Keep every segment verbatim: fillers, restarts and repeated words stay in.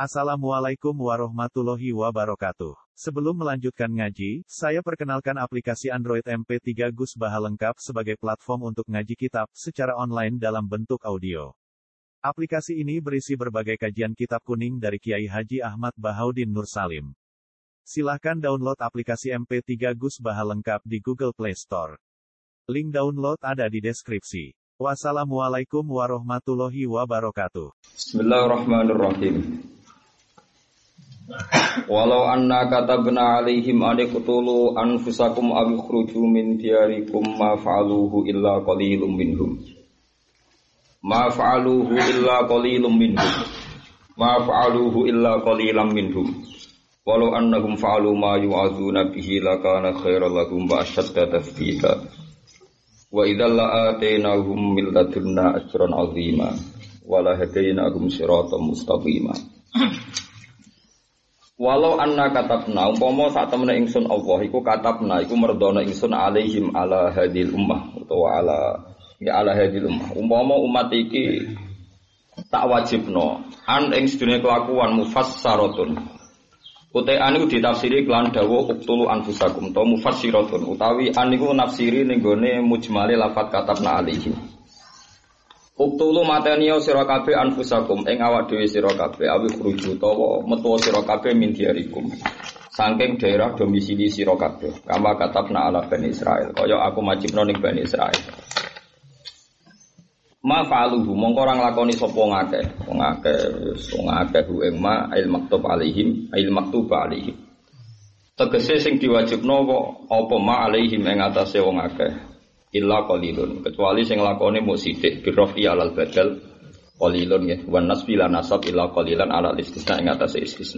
Assalamualaikum warahmatullahi wabarakatuh. Sebelum melanjutkan ngaji, saya perkenalkan aplikasi Android M P tiga Gus Baha lengkap sebagai platform untuk ngaji kitab secara online dalam bentuk audio. Aplikasi ini berisi berbagai kajian kitab kuning dari Kiai Haji Ahmad Bahaudin Nur Salim. Silahkan download aplikasi M P tiga Gus Baha lengkap di Google Play Store. Link download ada di deskripsi. Wassalamualaikum warahmatullahi wabarakatuh. Bismillahirrahmanirrahim. Walau anna katabna alaihim an iqtulu anfusakum aw ikhruju min diyarikum ma fa'aluhu illa qalilum minhum. Ma fa'aluhu illa qalilum minhum. Ma fa'aluhu illa qalilam minhum. Walau annahum fa'alu ma yu'adzuna bihi lakana khairan lahum wa ashadda tathbita. Wa idzal la'atainahum min ladunna ajran 'azima wa la hadainahum siratan mustaqima. Walau anna katabna umpama sak temene ingsun Allah iku katabna iku merdono ingsun alaihim ala hadil ummah utawa ala ya ala hadil ummah umpama umat iki tak wajibno an ing sedune kelakuan mufassaratun utai an iku ditafsiri kelan dawuh uqtulu anfusakum to mufassiratun utawi an iku nafsiri ning gone mujmale lafat katabna alaihim. Uktulu mateniyo sira kabeh anfusakum ing awak dhewe sira kabeh awi khruju utawa metu sira kabeh min diarikum saking daerah domisili sira kabeh kama katabna ala Bani Israil kaya aku majibno ning Bani Israil. Ma fa'aluhu mongko ora nglakoni sapa ngakeh wong akeh wong akeh ing ma il maktub alaihim il maktub alaihim tegese sing diwajibno kok apa ma alaihim ing atase wong akeh illa qalilun kecuali sing lakone mung sithik birofi alal badal qalilun ya wan nasbi la nasab illa qalilan ala istisna ing atase istisna.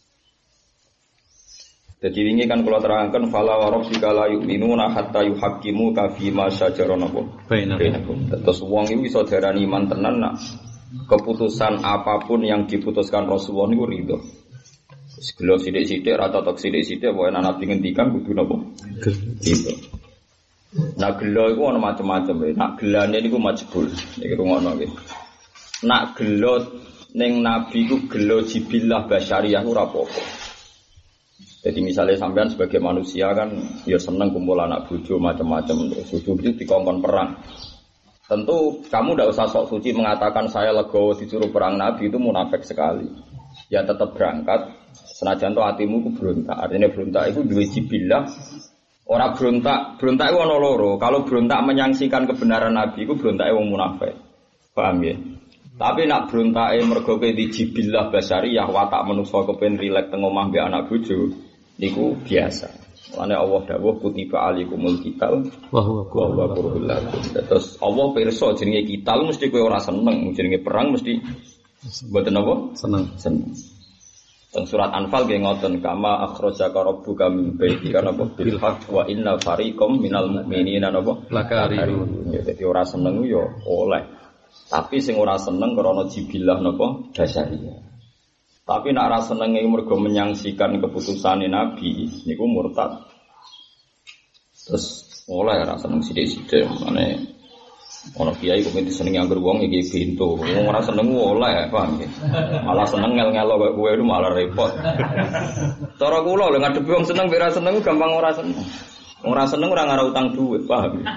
Dadi wingi kan kula terangkan fala wa rabbika la yu'minuna hatta yuhaqqimu ka fi ma syajara bainakum. Terus wong iku iso diarani iman tenan nak keputusan apapun yang diputuskan Rasulullah niku ridho. Wis gelo sithik-sithik ra totok sithik-sithik wae ana nabi ngendikan kudu napa? Ridho. Nak gelo iku ana macam-macam ya. Nak gelane niku majbul. Iki rungokno nggih. Nak gelo ning nabi iku gelo jibillah basyariah ora apa-apa. Jadi misalnya sampean sebagai manusia kan ya seneng kumpul anak bojo macam-macam terus bojo itu dikongkon perang. Tentu kamu ndak usah sok suci mengatakan saya legowo disuruh perang nabi itu munafik sekali. Ya tetap berangkat senajan to atimu ku berontak. Artinya berontak itu duwe jibillah. Orang berontak, berontak itu ada loro. Kalau berontak menyaksikan kebenaran Nabi itu berontak itu munafik. Paham ya? Tapi nak berontak itu mergo di jibillah basyariyah watak manusia kepen rilek teng omah mbek anak bojo niku biasa. Lane Allah dawuh kutiba alikumul qital wa huwa kurhul lakum. Terus Allah pirsa jenenge qital mesti kowe ora seneng, jenenge perang mesti mboten apa? Seneng. Seneng. Teng surat Anfal nggih ngoten kama akhrajaka rabbuka min baitika napa bil haqq wa inna fariqam minal mu'minina napa lakarihun. Ya dadi ora seneng yo oleh. Tapi sing ora seneng krana jibillah napa basyariyah. Tapi nek ora seneng iki mergo menyangsikan keputusane Nabi niku murtad. Terus oleh ora seneng sithik-sithik mane ono kiai kok disenengi anggar wong iki pintu. Wong ora seneng oleh, paham nggih. Malah seneng ngel-ngelo kok kowe itu malah repot. Cara kula lho ngadepi wong seneng ora seneng gampang ora seneng. Wong ora seneng ora ngara utang dhuwit, paham nggih.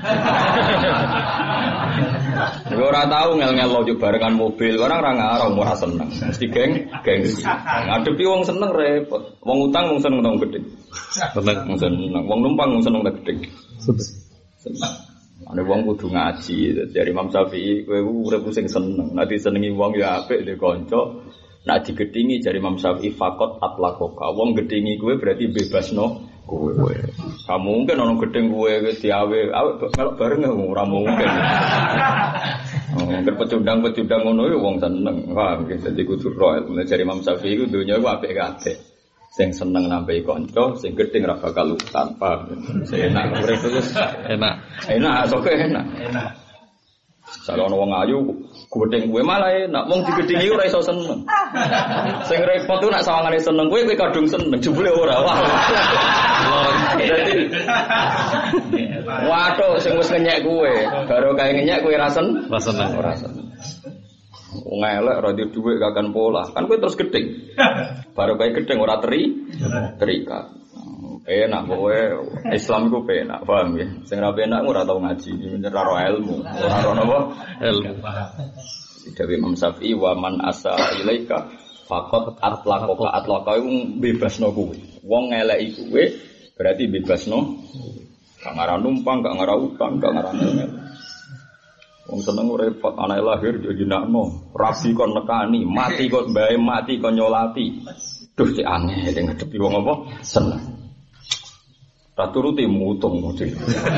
Nek ora tau ngel-ngelo yo barengan mobil, orang ora ngara ora seneng. Mesti geng, gengsi. Ngadepi wong seneng repot. Wong utang wong seneng utang gedhe. Seneng wong seneng. Wong numpang wong seneng utang gedhe. Seneng. Ana wong kudu ngaji, dari Imam Syafi'i kowe urip sing seneng. Nek disenengi wong ya apik dhe kanca. Nek digedhingi dari Imam Syafi'i faqat atlaqoka. Wong gedhingi kowe berarti bebasno kowe. Kamu mungkin ana gedhing kowe diawe, awake melok bareng ora mungkin. Oh, ngger pecundang-pecundang ngono ya wong seneng. Paham nggih, dadi kudu ro. Dari Imam Syafi'i ku donya ku apik kabeh. Sing seneng nambahi kanca, sing gedeng ra bakal utang, paham. Sing enak urip terus enak. Enak, sok enak. Enak. Kalau ana wong ayu gedeng kowe malah enak, wong digedhingi ora iso seneng. Sing repot ku nek sawangane seneng kowe kowe kadung seneng, jebule ora. Wah. Dadi waduh sing wis ngenyek kowe, baru kae ngenyek kowe ra seneng, ora seneng. Wong elek ora duwe dhuwit kakan pola. Kan kowe terus gedeng. Baru kae gedeng ora teri, terikat. Enak kowe Islam iku penak, paham ya? Sing ra penak ora tau ngaji, ora ro ilmu, ora ro napa? Ilmu. Dewe Imam Syafi'i wa man asa ilaika faqat atlaqaka atlaqa iku bebasno kowe. Wong ngeleki kowe berarti bebasno. Gak ngara numpang, gak ngara utang, gak ngara ngel. Wong seneng repot anake lahir yo jenakno, rabi kon nekani, mati kon mbae mati kon nyolati. Duh cek aneh ning ngadepi wong apa? Seneng. Ra turuti mutung model.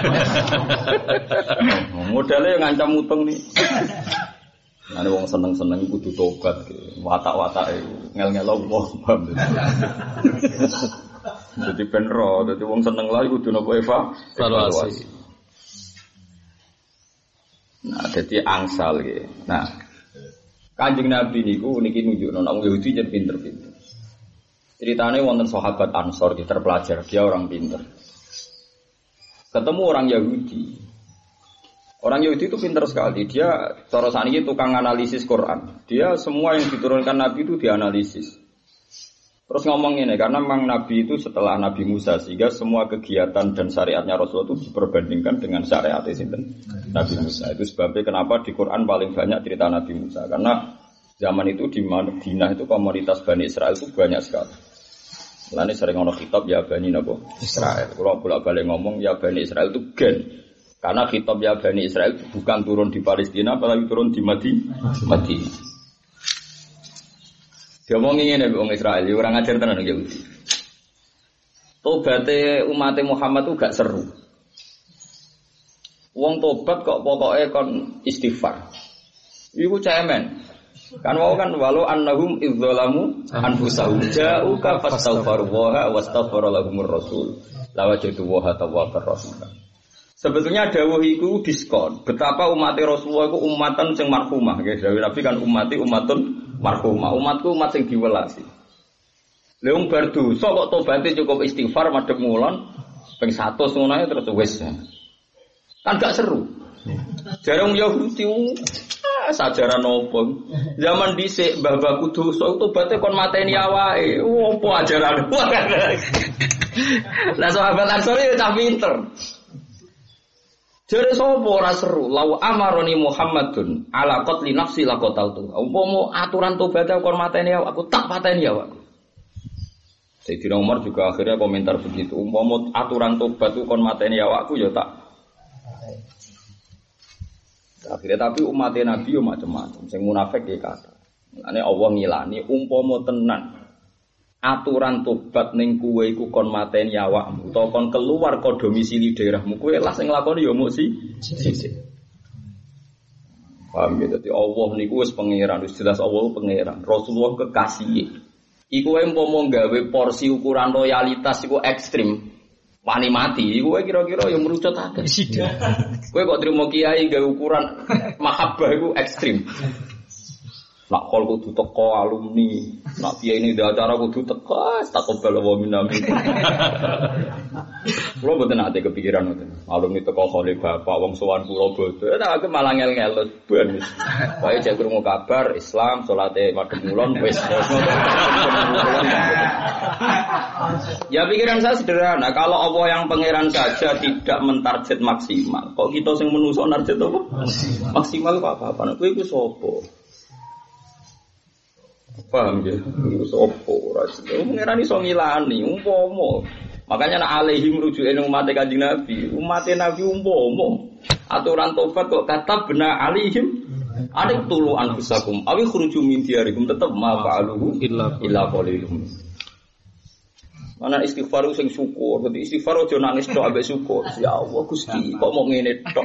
Modele ngancam mutung nih. Ane wong seneng-seneng kudu tobat ki. Watak-watake ngel-ngel Allah, paham. Dadi ben ro, dadi wong seneng lha kudu napa Eva? Evaluasi. Nah, jadi angsal gitu. Nah, Kanjeng Nabi niku niki nunjukno nek wong Yahudi jan pinter-pinter. Ceritane wonten sahabat Ansor ki terpelajar, dia orang pinter. Ketemu orang Yahudi. Orang Yahudi itu pinter sekali. Dia cara saniki tukang analisis Quran. Dia semua yang diturunkan Nabi itu dianalisis. Terus ngomong ini, karena memang Nabi itu setelah Nabi Musa, sehingga semua kegiatan dan syariatnya Rasulullah itu diperbandingkan dengan syariat Nabi Musa. Itu sebabnya kenapa di Quran paling banyak cerita Nabi Musa. Karena zaman itu di Madinah itu komunitas Bani Israel itu banyak sekali. Mulanya sering ngomong khitab ya Bani Nabo Israel. Kalau bolak-balik ngomong ya Bani Israel itu gen. Karena khitab ya Bani Israel itu bukan turun di Palestina, apalagi turun di Madinah. Dia ngomongin ini orang Israel, orang ngajar tenan Yahudi. Tobaté umat Muhammad itu gak seru. Wong tobat kok pokoknya kon istighfar. Iku cemen. Kan wau kan walau annahum idzalamu anfusahum ja'uka fastaghfiru wa wastaghfara lahumur rasul. Lawajadu wa tawwabur rahim. Sebetulnya dawuh iku diskon. Betapa umat Rasulullah iku umatan sing marhumah, nggih. Dawuh Nabi kan umati umatun marhumah. Umatku umat sing diwelasi. Lha wong bar dosa kok tobaté cukup istighfar madhep ngulon ping seratus ngono ae terus wis. Kan gak seru. Jarang Yahudi ah sajaran opo. Zaman dhisik mbah-mbahku dosa tobaté kon mateni awake. Opo ajaran. Lah sahabat Ansor yo cah pinter. Jare sapa ora seru, law amaroni Muhammadun ala qatli nafsi laqataltu. Umpama aturan tobat kon mateni aku tak pateni awakku. Sayyidina Umar juga akhirnya komentar begitu. Umpama aturan tobat ku kon mateni awakku ya tak. Akhirnya tapi umat Nabi yo macam-macam. Sing munafik ya kata. Ane Allah ngilani umpama tenan aturan tobat ning kowe iku kon mateni awakmu utawa kon keluar ka domisili daerahmu kowe lah sing nglakoni ya mung si sisik. Paham ya, dadi Allah niku wis pangeran, wis jelas Allah pangeran. Rasulullah kekasih. Iku wae umpama gawe porsi ukuran loyalitas iku ekstrim. Wani mati, iku wae kira-kira ya merucut akeh. Kowe kok trimo kiai gawe ukuran mahabbah iku ekstrim. Nak kol kudu teko alumni, nak piye ini di acara kudu teko, tak kobel wa minami. Kulo mboten ate kepikiran ngoten. Alumni teko khole bapak wong sowan kula bodho, tak aku malah ngel-ngel ben. Wae jek krungu kabar Islam, salate madhep ngulon wis. Ya pikiran saya sederhana, kalau Allah yang pangeran saja tidak mentarget maksimal, kok kita sing menungso narget apa? Maksimal kok apa-apa? Kowe iku sapa? Paham ya? Itu sopo rasanya. Mengenai iso ngilani, umpomo. Makanya nak alaihi merujuk ini umat Kanjeng Nabi. Umat Nabi umpomo. Aturan tobat kok kata benar alaihim. Ada tulu anfusakum. Awi khuruju min diyarikum tetap ma fa'aluhu illa qalilum. Mana istighfar sing syukur, berarti istighfar aja nangis tok ambek syukur. Ya Allah Gusti, kok mau ngene tok.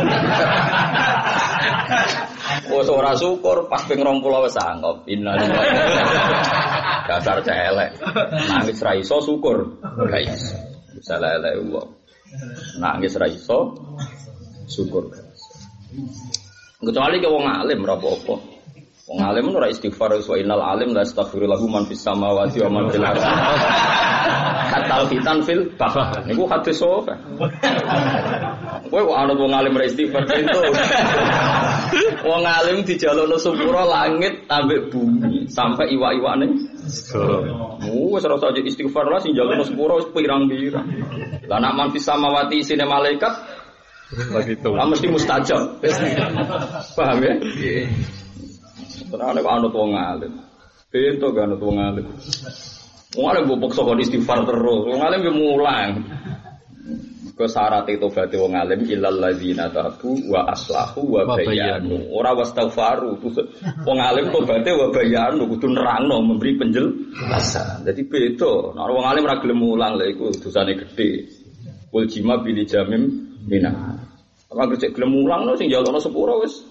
Wes ora syukur pas ping rong puluh wis anggap. Innalillahi. Dasar celek. Nangis ra iso syukur. Ra iso. Salah elek wong. Nangis ra iso syukur. Kecuali ke wong alim ora apa-apa. Wong alim ora istighfar wa innal alim la astaghfiru lahu man fis samawati wa man fil ardh. Katal fitan fil bahr. Niku hadis sahih. Kowe kok ana wong alim ra istighfar itu. Wong alim dijalukno sepuro langit ambek bumi sampai iwak-iwane. Oh, wis ora usah istighfar lah sing jalukno sepuro wis pirang-pirang. Lah nek man fis samawati isine malaikat begitu. Lah mesti mustajab. Paham ya? Nggih. Terane kok anut wong alim. Bento kan anut wong alim. Wong alim mbok saka istighfar terus. Wong alim yo mulang. Ke syarat tobat wong alim illal ladzina tabu wa aslahu wa bayanu. Ora wastaghfaru. Wong alim tobaté wa bayanu kudu nerangno memberi penjelasan. Dadi beda. Nek wong alim ora gelem mulang lha iku dosane gedhe. Wal jima bil jamim minah. Apa kerja gelem mulangno sing njalukno sepuro wis.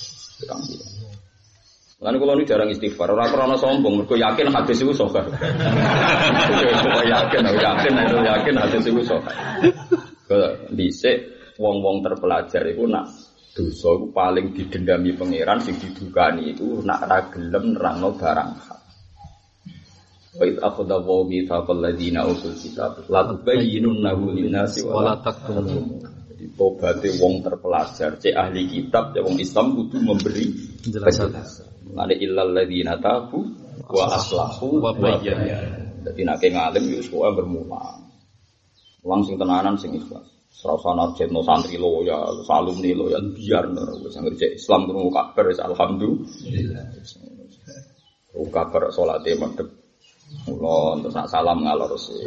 Lan kula ni jarang istighfar, ora krana sombong, mergo yakin hadis iku sahih. Kok yakin, yakin, yakin hadis iku sahih. Dhisik wong-wong terpelajar iku nak dosa iku paling didendami pangeran sing didukani iku nak ra gelem nerangno barang hak. Wa id akhadha wa mithaqal ladzina utul kitab la tubayyinunnahu lin-nasi wa la taktumun. Jadi tobate wong terpelajar, cek ahli kitab, ya wong Islam kudu memberi penjelasan. Ada illal ladzina tabu wa aslahu wa bayyana. Dadi nek ngalim yo suwe bermulang. Langsung tenanan sing ikhlas. Serasana jetno santri lo ya, alumni lo ya biar wis ngerti Islam kudu kabar wis alhamdulillah. Oh kabar salate madhep. Mula terus salam ngalor sih.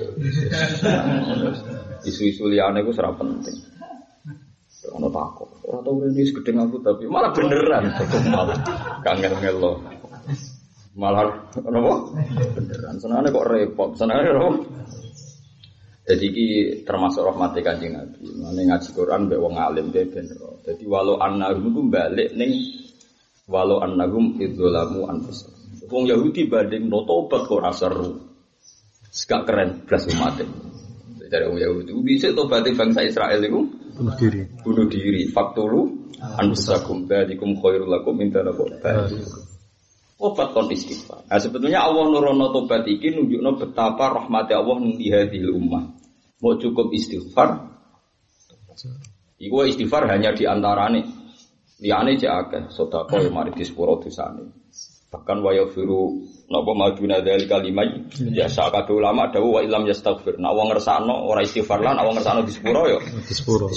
Isu-isu liyane iku ora penting. Ono takok. Ora tau rene wis gedeng aku tapi malah beneran malah kangen-kangen lo. Malah napa? Beneran. Senane kok repot. Senane lho. Jadi iki termasuk rahmate Kanjeng Nabi. Mane ngaji Quran mbek wong alim dhewe ben ro. Dadi walau annahum ku balik ning walau annahum idzalamu anfusahum. Wong Yahudi banding no tobat kok ora seru. Gak keren blas umat. Dari wong Yahudi bisa tobat bangsa Israel iku bunuh diri. Bunuh diri. Faktulu anfusakum badikum khairul lakum min tanakum. Tobat kon istighfar. Nah sebetulnya Allah nurono tobat iki nunjukno betapa rahmat Allah ning hadhil ummah. Mau cukup istighfar. Iku istighfar hanya di antarane. Liyane cek akeh sedekah yo mari disepuro dosane. Bahkan wa yafiru napa maduna dzal kalimah ya sakate ulama dawuh wa illam yastaghfir. Nek wong ngersakno ora istighfar lan wong ngersakno disepuro yo disepuro.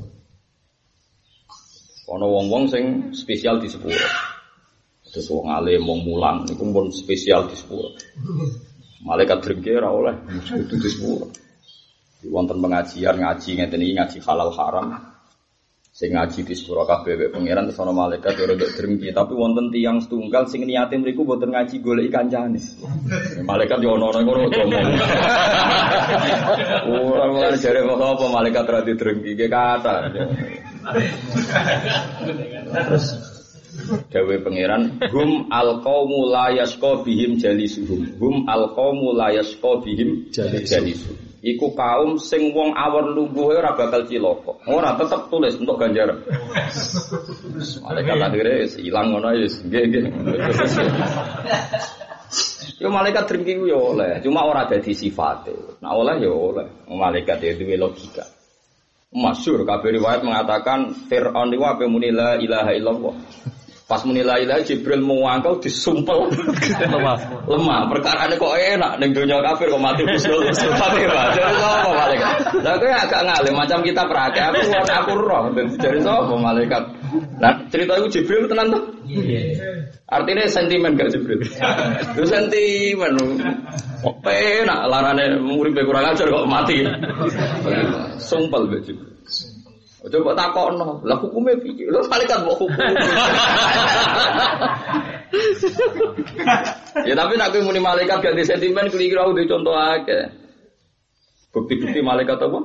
Ana wong-wong sing spesial disepuro. Terus wong alim wong mulang niku pun spesial disepuro. Malaikat drengke ora oleh kudu disepuro. Di wonten pengajian ngaji ngeten iki ngaji halal haram. Sing ngaji di sepuro kabeh wek pangeran terus ana malaikat ora ndek drengki tapi wonten tiyang setunggal sing niate mriku mboten ngaji goleki kancane. Malaikat yo ana ngono ngomong. Ora ora jare apa malaikat ra di drengki ge kata. Terus dawe pangeran hum alqaumu la yasqa bihim jalisuhum hum alqaumu la yasqa bihim jalisuhum. Iku kaum sing wong awor lungguhe ora bakal cilaka. Ora tetep tulis untuk ganjaran. Malaikat akhire ilang ngono ya nggih nggih. Yo malaikat drengki ku yo oleh, cuma ora dadi sifate. Nah oleh yo oleh. Malaikat ya duwe logika. Masyhur kabeh riwayat mengatakan Fir'aun iku ape muni la ilaha illallah. Pas muni la ilaha Jibril muangkau disumpel lemah. Lemah, perkarane kok enak ning donya kafir kok mati usul. Tapi Pak, jadi sapa malaikat? Lah kowe agak ngalim macam kita prakek aku aku roh dari sapa malaikat. Nah, cerita iku Jibril tenan to? Iya. Artinya sentimen gak Jibril? Itu sentimen. Kok enak larane murid kurang ajar kok mati. Sumpel mbek Jibril. Coba takokno, lah hukume piye? Lho malaikat mbok hukum. Ya tapi nek kowe muni malaikat ganti sentimen kira-kira udah contoh akeh. Bukti-bukti malaikat apa?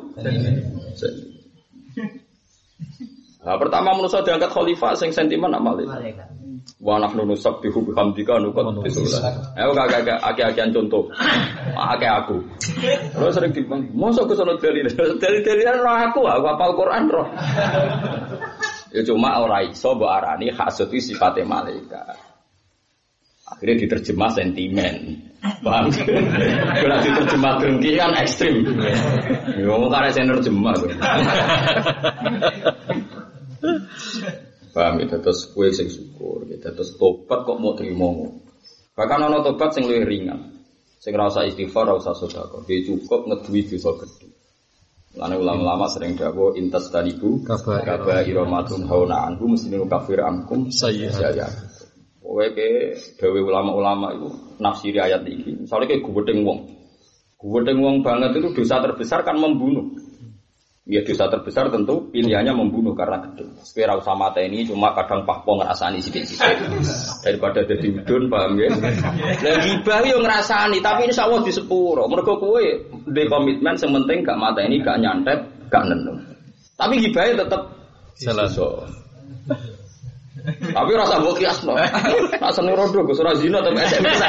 Nah, pertama manusia diangkat khalifah sing sentimen nak malaikat. Wa nahnu nusabbihu bihamdika nuqaddisullah. Ayo kakek akeh-akehan contoh. Akeh aku. Terus sering dibang, mosok kesono dalil. Dalil-dalilan roh aku, aku hafal Quran roh. Ya cuma ora iso mbok arani hasud iki sifate malaikat. Akhirnya diterjemah sentimen. Paham? Kalau diterjemah dengki kan ekstrim. Ya wong karek sing nerjemah. Paham paham ya, terus kowe sing syukur, gitu. Terus tobat kok mau trimo. Bahkan ana tobat sing luwih ringan. Sing ora usah istighfar, ora usah sedekah. Dia cukup ngeduwi dosa gedhe. Lan ulama-ulama sering dawuh intas talibu kaba iramatun hauna anhu muslimu kafir ankum sayyi'at. Kowe ke dawuh ulama-ulama itu nafsiri ayat iki. Misale ke gubedeng wong. Gubedeng wong banget itu dosa terbesar kan membunuh. Ya dosa terbesar tentu pilihannya membunuh karena gede. Sekira usah mateni cuma kadang pahpo ngrasani sithik-sithik. Daripada dadi udun paham ya. Lah gibah yo ngrasani tapi insyaallah di sepuro. Mergo kowe ndek komitmen sing penting gak mateni, gak nyantet, gak nenung. Tapi gibahe tetep selaso. Tapi rasa mbok kiasno. Asane rondo Gus ora zina tapi S M S.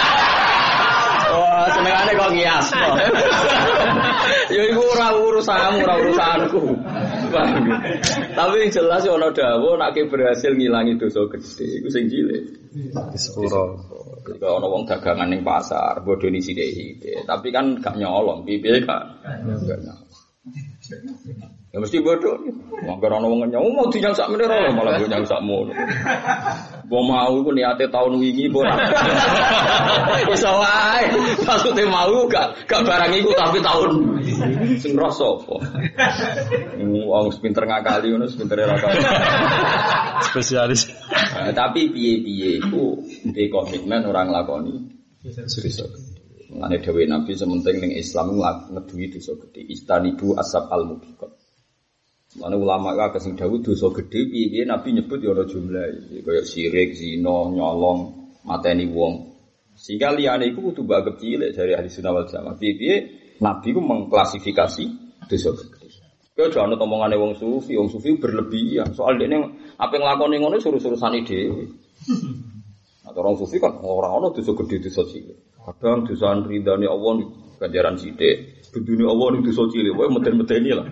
Wah, senengane kok ngiasno. Ya iku ora urusanmu, ora urusanku. Tapi jelas yo ana dawuh nek berhasil ngilangi dosa gedhe iku sing cilik. Sepuro. Ketika ana wong dagangan ning pasar, bodoni sithik-sithik, tapi kan gak nyolong, piye gak. Gak nyolong. Ya mesti bodoh. Mangger ana wong nyong mau dinyang sak meneh ora malah go nyang sak mono. Mbok mau iku niate taun wingi apa ora. Iso wae. Maksude mau gak gak barang iku tapi taun sing rasa apa. Wong pinter ngakali ngono pintere ra kali. Spesialis. Nah, tapi piye-piye iku ndek komitmen ora nglakoni dosa. Ngene dhewe Nabi sementing ning Islam ngeduwi dosa gedhe. Istanibu asab al-mubiqat. Mana ulama itu sing dawuh dosa gedhe piye Nabi nyebut ya ana jumlahe kaya syirik, zina, nyolong, mateni wong. Sehingga liyane iku kudu mbak cilik dari ahli sunnah wal jamaah. Piye Nabi ku mengklasifikasi dosa gedhe. Kaya aja ana omongane wong sufi, wong sufi berlebihan. Soal dekne apa nglakoni ngono suruh-surusane dhewe. Atau orang sufi kan ora ana dosa gedhe dosa cilik. Kadang dosa ridane Allah ganjaran sithik. Dunia Allah itu dosa cilik, wae meten-meteni lah.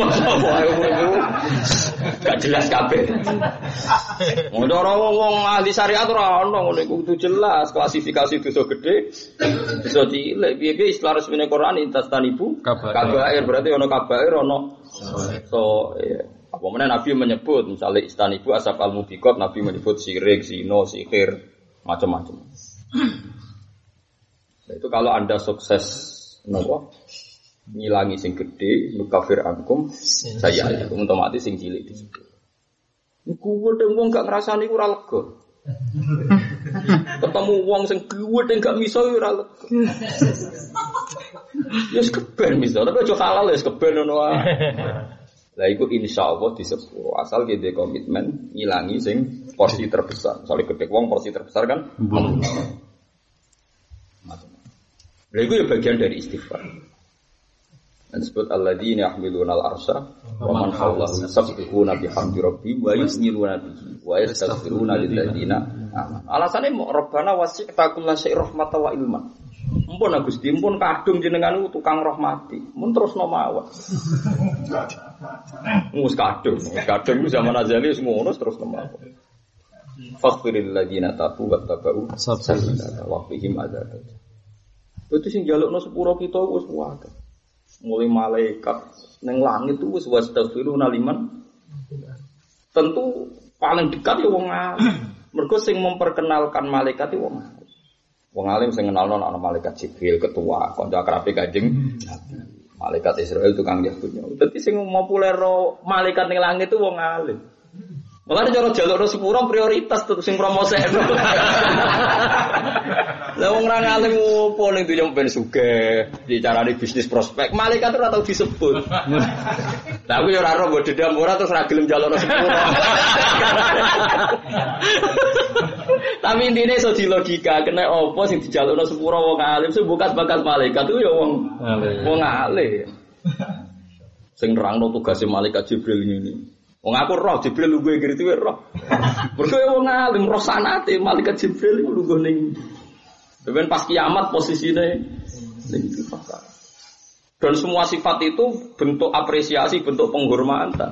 Gak jelas kabeh. Wong ora wong ahli syariat ora ono ngono iku kudu jelas klasifikasi dosa gedhe, dosa cilik. Piye-piye istilah resmine Quran intastanibu kabair berarti ono kabair ono so ya. Apa meneh Nabi menyebut misalnya istanibu asab al-mubiqat, Nabi menyebut syirik, zina, sihir, macam-macam. Nah, itu kalau Anda sukses napa ngilangi sing gedhe nukafir ankum saya itu otomatis sing cilik disebut. Niku wedeng wong gak ngrasani ku ora lega. Ketemu wong sing gedhe gak miso ora lega. Ya keben miso, tapi aja halal ya keben ngono wae. Lah iku insyaallah disepuro asal kita komitmen ngilangi sing porsi terbesar. Soale gedhe wong porsi terbesar kan. Lah iku ya bagian dari istighfar. Dan disebut alladzina yahmiluna al-arsha wa man hawlahu yusabbihuna bihamdi rabbihim wa yusniluna bihi wa yastaghfiruna lil ladzina amanu. Alasane Rabbana wasi'ta kullasyai rahmatan wa ilman. Mumpun Gusti, mumpun kadung jenengan tukang rahmati. Mun terusno mawon. Mus kadung, kadung zaman azali wis ngono terusno mawon. Faghfiril ladzina tabu wa tabau sabila wa fihim adzab. Itu sing jalukno sepuro kita wis wae. Mulai malaikat neng langit itu wis wastaghfiruna liman. Tentu paling dekat ya wong alim. Mergo sing memperkenalkan malaikat itu wong alim. Wong alim sing kenalno ana malaikat Jibril ketua, kanca akrabe Kanjeng Nabi. Malaikat Israel tukang Yahudnya. Dadi sing populer malaikat ning langit itu wong alim. Malah cara jalukno sepuro prioritas tuh sing promosekno. Lah wong ra ngalim opo ning dunya ben sugih, dicarani bisnis prospek, malaikat ora tau disebut. Lah aku yo ora ro mbok dendam ora terus ra gelem jalukno sepuro. Tapi intine iso dilogika, kena opo sing dijalukno sepuro wong alim, sing bakat-bakat malaikat ku yo wong wong alim. Sing nerangno tugase malaikat Jibril ngene. Wong aku roh Jibril lungguh ngerti wae roh. Mergo wong alim roh sanate malaikat Jibril iku lungguh ning. Ben pas kiamat posisine ning fakar. Dan semua sifat itu bentuk apresiasi, bentuk penghormatan.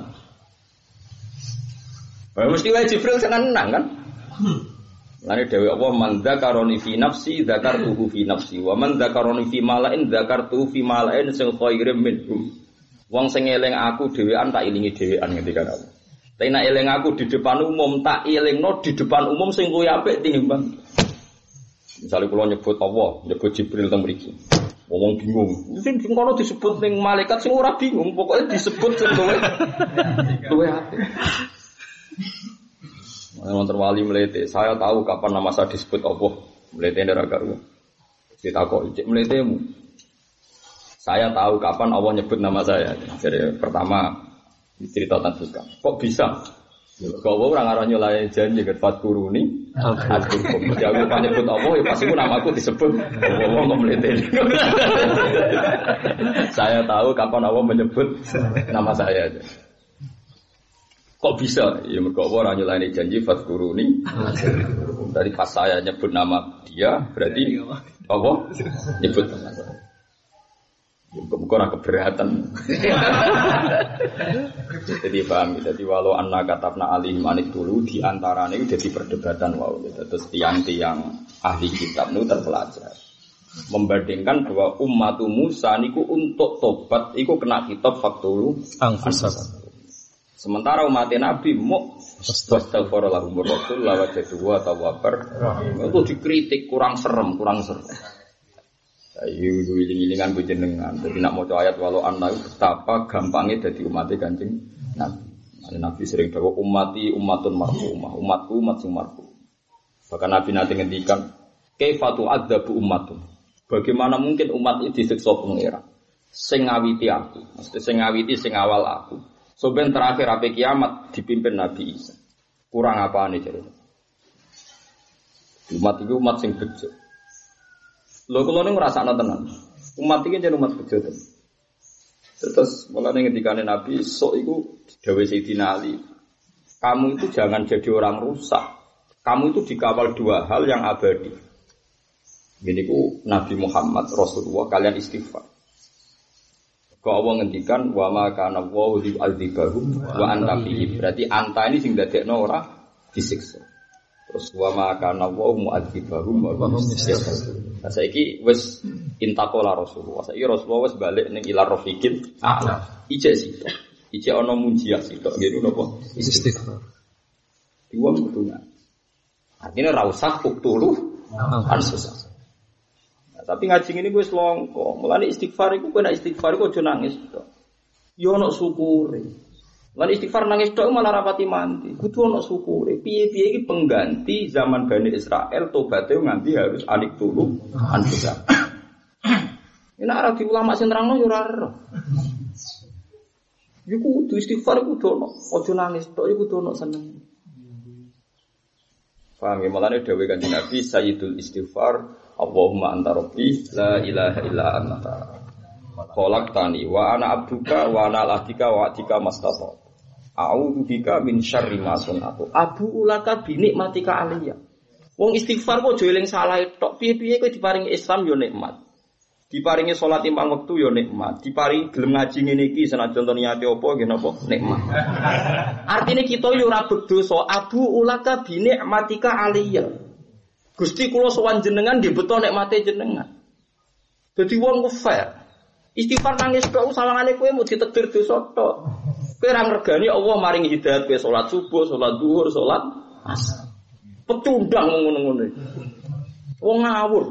Wah mesti wae Jibril seneng kan? Lane dhewe apa man dzakaroni fi nafsi dzakartuhu fi nafsi wa man dzakaroni fi malain dzakartuhu fi malain sing khairim minhum. Wong sing eling aku dhewean tak ilingi dhewean ngendika aku. Tapi nek eling aku di depan umum tak elingno di depan umum sing luwih apik tinimbang. Misalnya kula nyebut Allah, nyebut Jibril teng mriki. Wong bingung. Sing sing kono disebut ning malaikat sing ora bingung, pokoknya disebut sing luwih luwih apik. Wonten wali mlete, saya tahu kapan nama saya disebut Allah. Mlete ndara karo. Ditakoki, "Cek mletemu?" Saya tahu kapan Allah nyebut nama saya. Jadi pertama cerita tentang kok bisa? Kalau orang arah nyolai janji ke Fatkuruni, Fatkurkum. Jadi aku nyebut Allah, ya pasti namaku disebut. Allah nggak melihat. Saya tahu kapan Allah menyebut nama saya. Kok bisa? Ya mereka orang nyolai janji Fatkuruni. Dari pas saya nyebut nama dia, berarti Allah nyebut nama saya. Bukan orang keberatan. Jadi paham. Jadi walau anna katabna alih manik dulu di antaranya itu jadi perdebatan wow. Terus tiang-tiang ahli kitab itu terpelajar membandingkan bahwa umat Musa niku untuk tobat iku kena kitab faktulu angfusat. Sementara umat Nabi mau astaghfirullah rasul lawat kedua tawabar itu dikritik kurang serem, kurang serem. Ayo wiling-wilingan jenengan. Jadi nak maca ayat walau anna betapa gampangnya dadi umat Kanjeng Nabi. Nabi sering dawa ummati ummatun marhumah, umatku umat sing marhum. Bahkan Nabi nanti ngendikan kaifatu adzabu ummatun. Bagaimana mungkin umat ini disiksa pengira? Sing ngawiti aku, mesti sing ngawiti sing awal aku. Soben terakhir ape kiamat dipimpin Nabi Isa. Kurang apane jare? Umat itu umat sing bejo. Lho kula ning ngrasakno tenan. Umat iki jeneng umat bejo tenan. Terus mulane ngendikane Nabi sok iku dawuh Sayyidina Ali. Kamu itu jangan jadi orang rusak. Kamu itu dikawal dua hal yang abadi. Gini ku Nabi Muhammad Rasulullah kalian istighfar. Kau Allah ngendikan wa ma kana Allahu li'adzibahum wa anta fihi. Berarti anta ini sing dadekno ora disiksa. Terus wa ma kana Allahu mu'adzibahum wa hum yastaghfirun. Nah saiki wis intaqala Rasulullah. Saiki Rasulullah wis balik ning ila rafiqil a'la. Ijek sito. Ijek ana munjiah sito. Nggih napa? Istighfar. Dua kudunya. Artinya ra usah uktulu ansusah. Tapi ngaji ini gue selongko, mulane istighfar iku kena istighfar iku aja nangis tok. Yo ana syukure. Lan istighfar nangis tok malah rapati mandi. Kudu ana syukure. Piye-piye iki pengganti zaman Bani Israel tobaté nganti harus anik tulu anfusa. Nek ora di ulama sing nerangno yo ora ero. Iku kudu istighfar iku kudu ana, aja nangis tok iku kudu ana seneng. Paham ya, mulane dawuh Kanjeng Nabi Sayyidul Istighfar Allahumma anta rabbi la ilaha illa anta khalaqtani wa ana abduka wa ana al-ahdika wa atika mastata a'udzu bika min syarri ma sunatu abu ulaka bi nikmatika aliyya. Wong istighfar kok aja eling salah tok, piye-piye kowe diparingi Islam yo nikmat, diparingi salat lima wektu yo nikmat, diparingi gelem ngaji ngene iki senajan to niate apa nggih napa nikmat. Artine kita yo ora berdosa abu ulaka bi nikmatika aliyya. Gusti kula sowan jenengan nggih beto nikmate jenengan. Dadi wong ku fair. Istighfar nangis tok salangane kowe mau ditakdir dosa tok. Kowe ora ngregani Allah maringi hidayat kowe salat subuh, salat zuhur, salat asar. Pecundang ngono-ngono. Wong ngawur.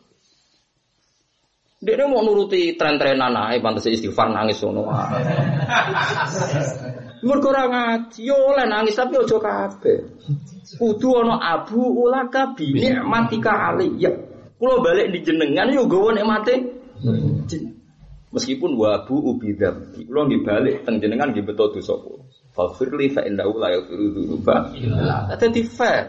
Dekne mau nuruti tren-trenan ae pantes istighfar nangis ngono wae. Mergo ora ngaji yo oleh nangis tapi aja kabeh. Kudu ana abu ulaka bi nikmatika aliyya. Kula balik di jenengan yo gawa nikmate jenengan. Meskipun wabu ubidam, kula nggih balik teng jenengan nggih beto dosa kula. Faghfirli fa innahu la yaghfiru dzunuba illa anta. Dadi fair.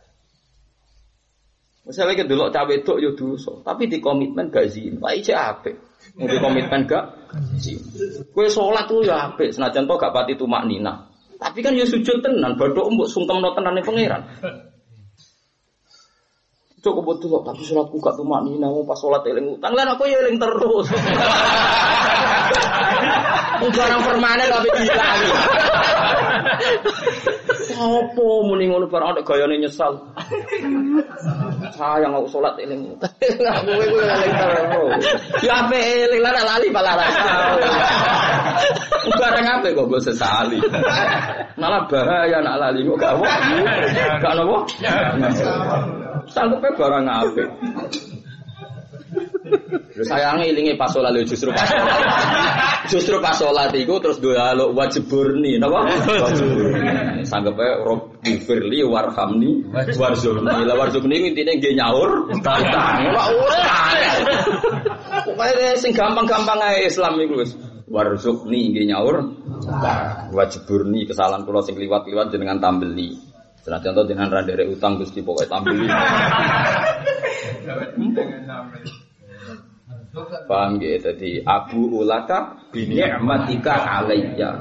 Misale ke delok cah wedok yo dosa, tapi di komitmen gak zina. Wae cek apik. Mung di komitmen gak zina. Kowe salat ku yo apik, senajan to gak pati tumak nina. Tapi kan ya sujud tenan, badok mbok sungkemno tenane pangeran. Cukup betul tapi salatku gak tumak nina, pas salat eling utang. Lan aku ya eling terus. Barang permanen tapi hilang. Apa muni ngono barang nek gayane nyesal. Sayang aku salat eling utang. Aku kowe eling terus. Ya ape eling lan lali malah ra. Barang apa kok mbok sesali. Malah bahaya nak lali kok gak apa. Gak apa. Sanggupe barang apa. Lho sayange ilinge pas salat justru pas salat. Justru pas salat iku terus doa wajib burni, napa? Wajib. Sanggepe Rabbi firli warhamni warzuqni. La warzuqni intine nggih nyaur. Ora ora. Pokoke sing gampang-gampang ae Islam iku wis. Warzuqni nggih nyaur. Wajib burni kesalahan kula sing liwat-liwat jenengan tambeli. Senajan to jenengan ra nderek utang Gusti pokoke tambeli. Paham gitu, jadi Abu Ulaka bini'matika alayya.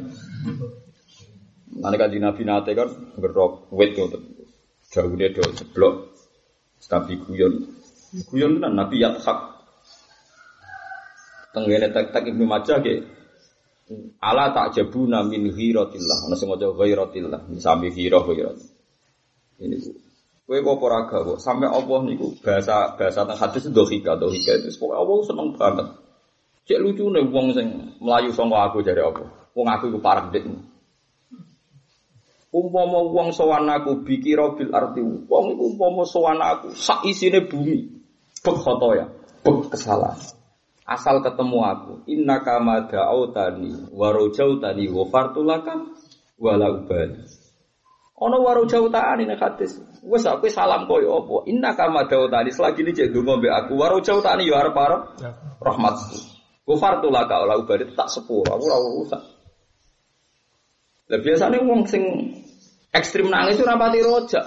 Nanti kan di Nabi Nate kan gerok wet gitu, jauh dia do seblok, tapi guyon, guyon kan Nabi Yathak. Tenggene tek-tek Ibnu Majah ke, ala ta'jabuna min ghiratillah, nasi ngojo ghiratillah, sami ghirah ghirah. Ini bu. Kowe kok ora gak kok sampai Allah niku bahasa bahasa teng hadis dohika dohika itu pokoke Allah seneng banget. Cek lucune wong sing mlayu saka aku jare apa? Wong aku iku parek dik. Umpama wong sowan aku bikira bil arti wong iku umpama sowan aku sak isine bumi. Bek khotoya, bek kesalahan. Asal ketemu aku, innaka ma da'autani wa rajautani wa fartulaka wala ubali. Ana waro jautane nek hadis. Wes aku salam koyo apa? Innaka madautani selagi ini cek ndonga mbek aku. Waro jautane yo arep-arep rahmatku. Ghafartu laka ala ubadi tak sepuro, aku ora urusan. Lah biasane wong sing ekstrem nangis ora pati rojak.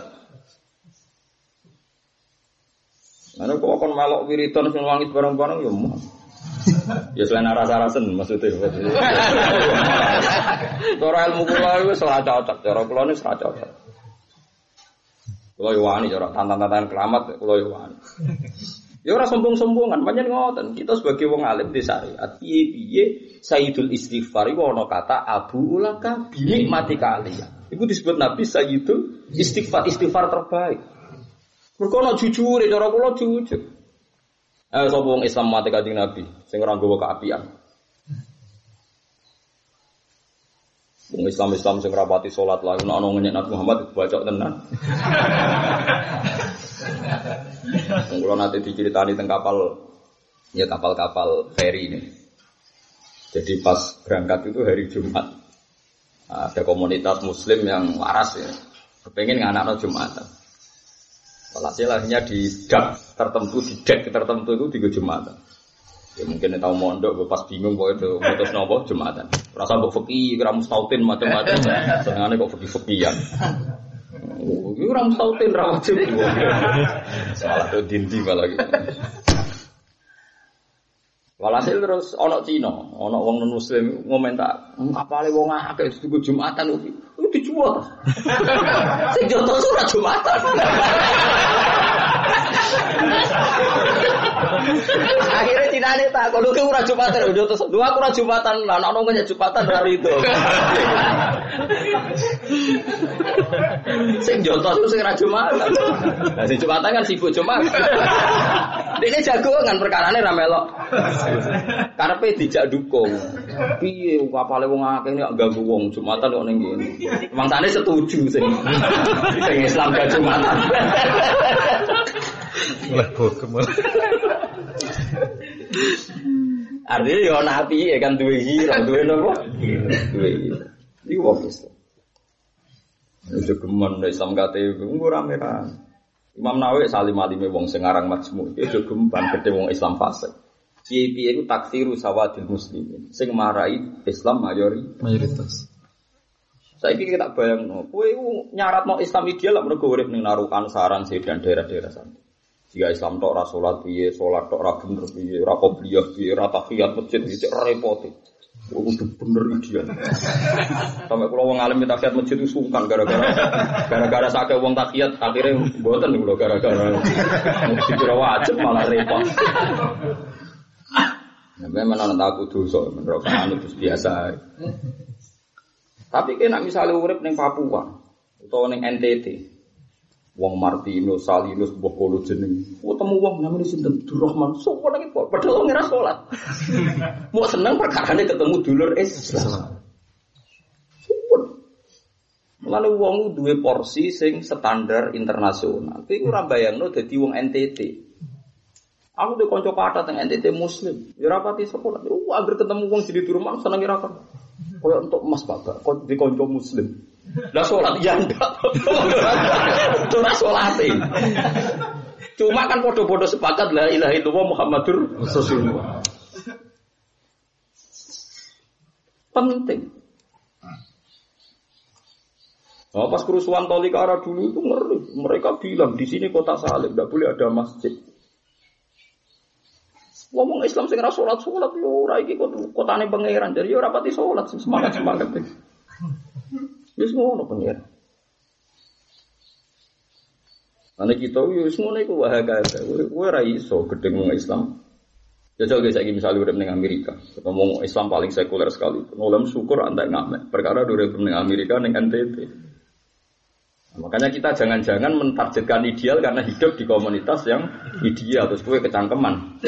Ana kok kon melok wiridan sing nangis bareng-bareng yo mah. Ya selain rasa-rasen maksudnya. Cara ilmu kula wis ora cocok, cara kula wis ora cocok. Kula yo wani cara tantan-tantan keramat kula yo wani. Ya ora sombong-sombongan, pancen ngoten. Kita sebagai wong alim di syariat, piye-piye Sayyidul Istighfar iku ana kata Abu Ulaka bi nikmatika aliyah. Iku disebut Nabi Sayyidul Istighfar, istighfar terbaik. Mergo ana jujure, cara kula jujur. Eh sapa wong Islam mati kanjeng Nabi sing ora nggawa keapian. Wong Islam-Islam sing rapati salat lha ana ngenyek Nabi Muhammad bacok tenan. Kulo nate diceritani teng kapal ya kapal-kapal feri ini. Jadi pas berangkat itu hari Jumat. Ada komunitas muslim yang waras ya. Kepengen nganakno Jumatan. Walhasil akhirnya di dak tertentu, di dek tertentu itu di Jumatan. Ya mungkin tahu mondok, pas bingung kok itu mutus nopo Jumatan. Rasa mbok fikih, kira mustautin macam-macam. Senengane kok fikih-fikihan. Iki ora mustautin ra wajib. Salah to dindi malah gitu. Walhasil terus ana Cina, ana wong non muslim ngomentar, "Apale wong akeh di Jumatan iki?" Itu dijual. Sing joto ora Jumatan. Akhirnya Cina ini tak, kalau ke ora Jumatan, udah terus dua aku ora Jumatan, lah ana wong Jumatan hari itu. Sing joto itu sing ora Jumatan. Lah sing Jumatan kan sibuk Jumat. Dene jago kan perkarane ra melok. Karepe dijak dukung. Piye kapale wong akeh nek ganggu wong Jumatan kok ning kene. Mangsane setuju sing sing Islam gak Jumatan. Mulai bokem. Artinya ya nabi ya kan duwe hira, duwe napa? Duwe hira. Iki wong Islam. Itu geman Islam kate nggo rame-rame. Imam Nawawi salim alime wong sing aran Majmu, itu gemban gede wong Islam fasik. Piye-piye iku taksiru sawadil muslimin. Sing marai Islam mayori mayoritas. Saiki kita bayangno, kowe iku nyaratno Islam ideal lak mergo urip ning Narukan, Saran, Sedan daerah-daerah sana. Jika Islam tok ora salat piye, salat tok ora bener piye, ora qobliyah piye, ora tahiyat masjid iki repot. Kudu bener ideal. Sampai kula wong alim tahiyat masjid itu sungkan gara-gara gara-gara sakake wong tahiyat akhire mboten lho gara-gara dikira wajib malah repot. Nah, memang ana tak dosa menurut anu terus biasa. Tapi kena misalnya urip ning Papua utawa ning N T T. Wong Martinus, Salinus, mbah kono jeneng. Oh temu wong namane sinten Durrahman. Sopo lagi padahal wong ora salat. Mau seneng perkarane ketemu dulur Islam. Mulane wong duwe porsi sing standar internasional. Kuwi ora bayangno dadi wong N T T. Aku duwe kanca kathah teng N T T muslim. Ya ora pati sekolah. Uh, anggere ketemu wong jadi durung seneng ora kok. Koyo entuk emas Bapak, kok di kanca muslim. Lah salat ya ndak. Ora salate. Cuma kan padha-padha sepakat la ilaha illallah Muhammadur Rasulullah. Penting. Oh, pas kerusuhan Tolikara dulu itu ngeri. Mereka bilang di sini kota salib, tidak boleh ada masjid. Ngomong Islam sing ora salat-salat yo ora iki kotane pangeran. Jadi ora pati salat semangat-semangat. Wis ngono pangeran. Ana kita wis ngono iku wae kae. Kowe ora iso gedeng wong Islam. Jajal guys saiki misale urip ning Amerika, ketemu Islam paling sekuler sekali. Ngolam syukur antek ngamek. Perkara urip ning Amerika ning N T T. Makanya kita jangan-jangan mentargetkan ideal karena hidup di komunitas yang ideal terus kowe kecangkeman.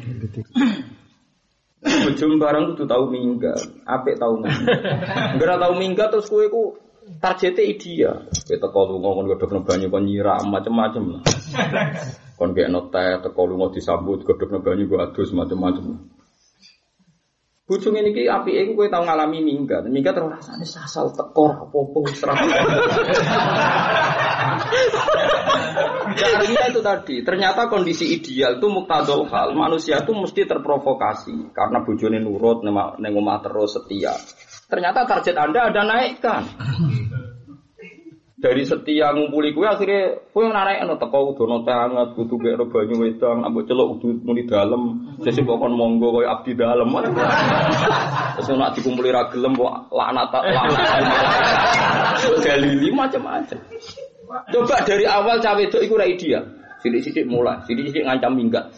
Bojom barang kudu tau minggat, apik tau minggat. Ora tau minggat terus kowe ku targete ideal. Kowe teko lunga kon godhogno banyu kon nyiram macam-macam. Kon gekno teh teko lunga disambut godhogno banyu go adus macam-macam. Bojong ini ki apike kowe tau ngalami minggat. Minggat terus rasane sasal teko apa-apa wis ra. Artinya itu tadi, ternyata kondisi ideal itu muktadul hal. Manusia itu mesti terprovokasi karena bojone nurut ning omah terus setia. Ternyata target Anda ada naikkan. Dari setia ngumpuli kowe akhirnya kowe narekno teko udono teh anget kudu gekno banyu wedang ambek celuk kudu muni dalem sesuk kon monggo koyo abdi dalem. Terus nek dikumpuli ra gelem kok laknat laknat. Dalili macam-macam. Coba dari awal cawe wedok iku ora ideal. Sithik-sithik mulai, sithik-sithik ngancam minggat.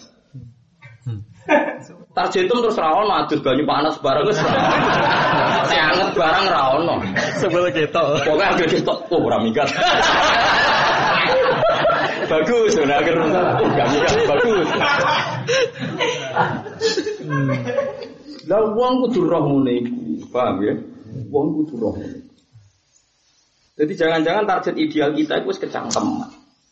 Targetum terus ra ono adus banyu panas bareng wis. Anget barang ra ono. Sebel ketok. Pokoke anggere ketok oh ora minggat. Bagus, ora akhir enggak minggat bagus. Lah wong kudu roh ngene iku, paham ya? Wong kudu roh. Jadi jangan-jangan target ideal kita itu wis kecangkeman.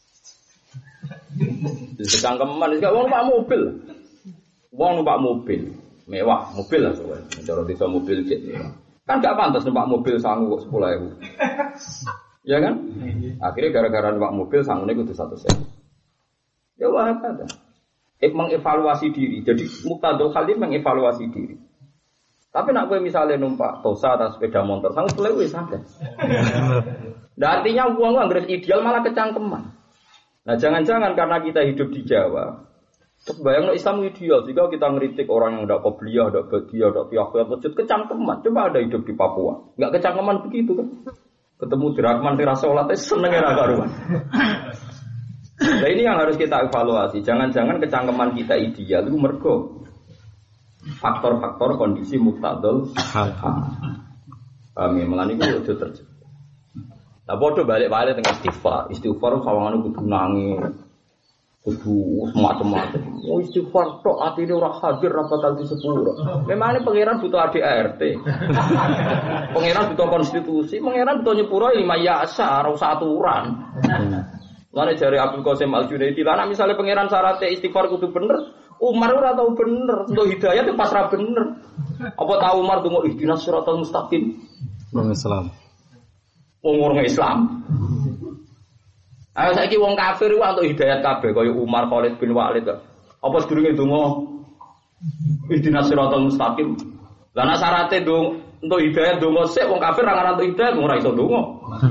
Wis kecangkeman, wis gak wong numpak mobil. Wong numpak mobil mewah, mobil lah soalnya. Cara desa mobil jet mewah. Kan gak pantas numpak mobil sangu kok sepuluh ribu. Ya kan? Akhirnya gara-gara numpak mobil sangune kudu satu sen. Ya wah kada. Eh mengevaluasi diri. Jadi muktadul khalif mengevaluasi diri. Tapi nak kowe misalnya numpak Tosa atau sepeda motor, sangu sepuluh ribu santai. Nah artinya uang anggere ideal malah kecangkeman. Nah jangan-jangan karena kita hidup di Jawa, terus bayangno Islam ideal, jika kita ngeritik orang yang tidak qobliyah, tidak badiyah, tidak fiyah-fiyah, masjid kecangkeman. Coba ada hidup di Papua, enggak kecangkeman begitu kan? Ketemu Dirahman tira salat seneng ora karuan. Nah ini yang harus kita evaluasi. Jangan-jangan kecangkeman kita ideal itu mergo faktor-faktor kondisi muktadul hal. Kami melani ku ojo terjadi. Lah padha balik-balik teng istighfar. Istighfar sawangane kudu nangis. Kudu semacam-macam. Oh istighfar tok atine ora hadir ra bakal disepuro. Memangane pangeran butuh A D R T. Pangeran butuh konstitusi, pangeran butuh nyepuro lima yasa ora usah aturan. Lane jare Abdul Qasim Al-Junaidi, lah misalnya pangeran syaratnya istighfar kudu bener, Umar ora tau bener, untuk hidayah itu pasrah bener. Apa tahu Umar dongo ihdinas siratal mustaqim? Wong Islam. Wong orang Islam. Ayo saiki wong kafir ku untuk hidayat kabeh kaya Umar, Khalid bin Walid. Apa sedurunge donga ihdinas siratal mustaqim? Lah nek syaraté dong untuk hidayat donga sik wong kafir ora ngarep untuk hidayat ora iso donga.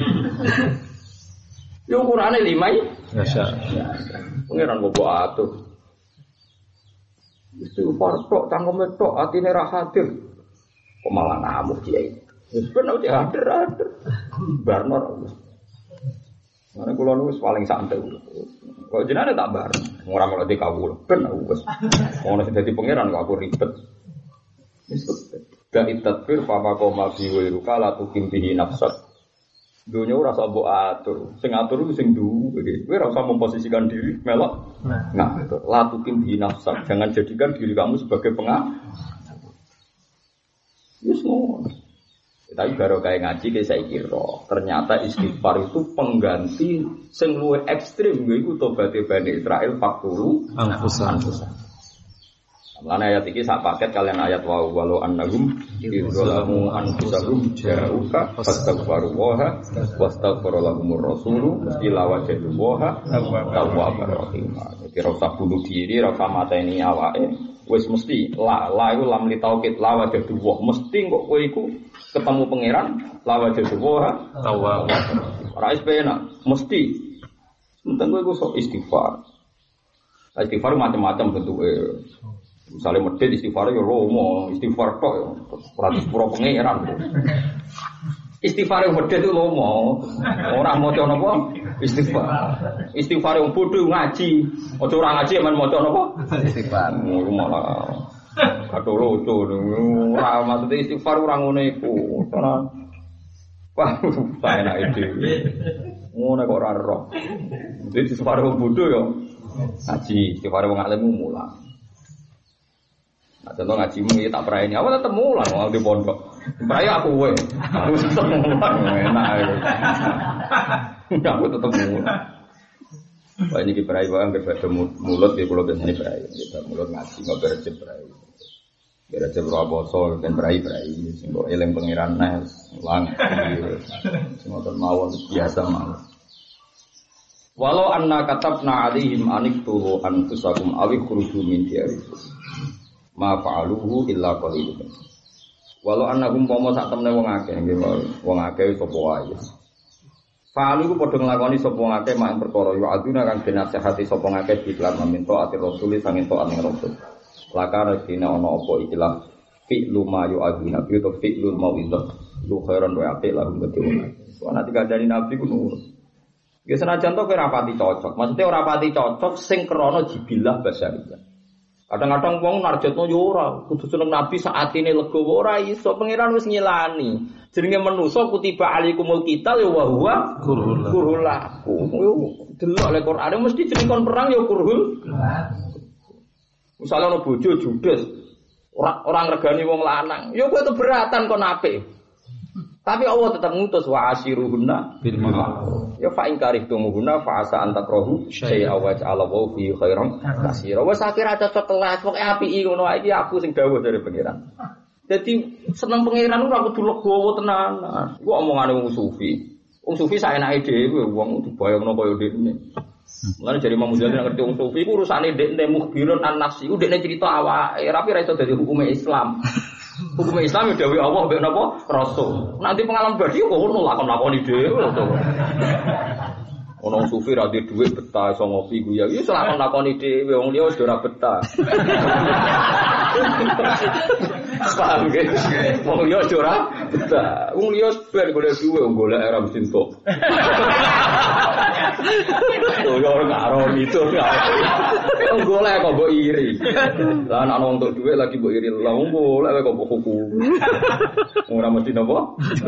Yo Qur'ane lima iki. Masya. Pengiran kok atuh. Istighfar tok cangkeme tok atine ra hadir. Kok malah ngamuk kiai. Wis ben nek hadir hadir. Barno wis. Mane kula nu wis paling santai. Kok jenenge tak bar. Ora melok dikawul. Ben wis. Ono sing dadi pengiran kok aku ribet. Wis gak itadbir fa maqama bi wa ruka la tukim bihi nafsat. Dunia ora usah mbok atur. Sing atur ku sing duwe. Kowe ora usah memposisikan diri melok. Nah, latukin bi nafsak. Jangan jadikan diri kamu sebagai pengatur. Wis ngono. Tapi baru kayak ngaji kayak saya kira ternyata istighfar itu pengganti sing luwih ekstrim yaiku tobaté Bani Israil fakturu anfusan. Lan ayat iki sak paket kalian ayat wa walau annahum idzalamu anfusahum ja'uka fastaghfiru wa wastaghfara lahumur rasulu ila wajadu wa tawwabur rahim. Jadi ora usah bunuh diri, ora usah mateni awake. Wis mesti la la iku lam li taukid la wajadu wa mesti kok kowe iku ketemu pangeran la wajadu wa tawwab. Ora is pena mesti enteng kowe iku sok istighfar. Istighfar macam-macam bentuke. Misalnya medit istighfar ya lomo, istighfar tok ya ratus pura pangeran. Istighfar yang medit itu lomo, orang maca napa? Istighfar. Istighfar yang bodoh ngaji, aja ora ngaji men maca napa? Istighfar. Ngono malah. Kado lucu, ora maksud istighfar ora ngono iku. Ora. Wah, saya enak ide. Ngono kok ora roh. Jadi istighfar yang bodoh ya ngaji, istighfar yang alim mulang. Nah, contoh ngajimu ya tak perayaan awal tetep mulang mau di pondok. Perayaan aku we. Aku tetep mulang enak. Aku tetep mulang. Wah ini ki perayaan wae berbeda mulut di pulau biasane perayaan. Kita mulut ngaji enggak berjep perayaan. Berjep raboso ben perayaan sing kok eling pangeran nes ulang. Sing ngoten mawon biasa mawon. Walau anna katabna alaihim aniktu anfusakum awi khuruju min diyarikum. Ma fa'aluhu illa qalilun. Walau annahum pomo sak temne wong akeh nggih wong akeh sapa wae. Fa'alu ku padha nglakoni sapa wong akeh mak perkara ya aduna kang dinasehati sapa ngakeh diklan minta ati rasul sanging tok ning rasul. Lakane dina ana apa ikilah fi'lu ma yu aduna bi to fi'lul mau'idah lu khairan wa apik lan gede wong. Ana dikandani nabi ku nurut. Ya senajan to kowe ora pati cocok. Maksudnya ora pati cocok sing krana jibilah basyariyah. Kadang-kadang wong narjatno yo ora, kudu seneng Nabi saatine legowo ora iso, pangeran wis ngilani. Jenenge manusa kutiba alaikumul qital ya wa huwa kurhul lakum. Yo delok le Quran mesti jeneng kon perang ya kurhul. Misale ana bojo judes, ora ora ngregani wong lanang, yo kowe keberatan kon apik. Tapi Allah tetap ngutus wa asyiruhunna bil ma'ruf. Ya fa in karihtumuhunna fa asa an takrahu syai'a wa ja'ala wa fi khairan katsira. Wes akhir ada setelah pokoke apiki ngono iki aku sing dawuh dari pangeran. Dadi seneng pangeran ora kudu legowo tenan. Iku omongane wong sufi. Wong sufi saenake dhewe wong dibayangno kaya dekne. Mulane jare Imam Ghazali ngerti wong sufi iku urusane dekne mukhbirun an-nafsi. Iku dekne cerita awake, tapi ora iso dadi hukume Islam. Hukum Islam dawuh Allah mbek napa Rasul. Nanti pengalaman badi kok ngono lakon-lakoni dhewe to. Ono sufi ra duwe dhuwit betah iso ngopi guya. Ya lakon-lakoni dhewe wong liya wis ora betah. Paham ge? Wong liya ora betah. Wong liya ben golek dhuwit wong golek era mesin tok. Tuh yo ora karo itu. Wong golek kok mbok iri. Lah anak wong tok dhuwit lagi mbok iri. Lah wong golek kok mbok kuku. Ora mesti napa?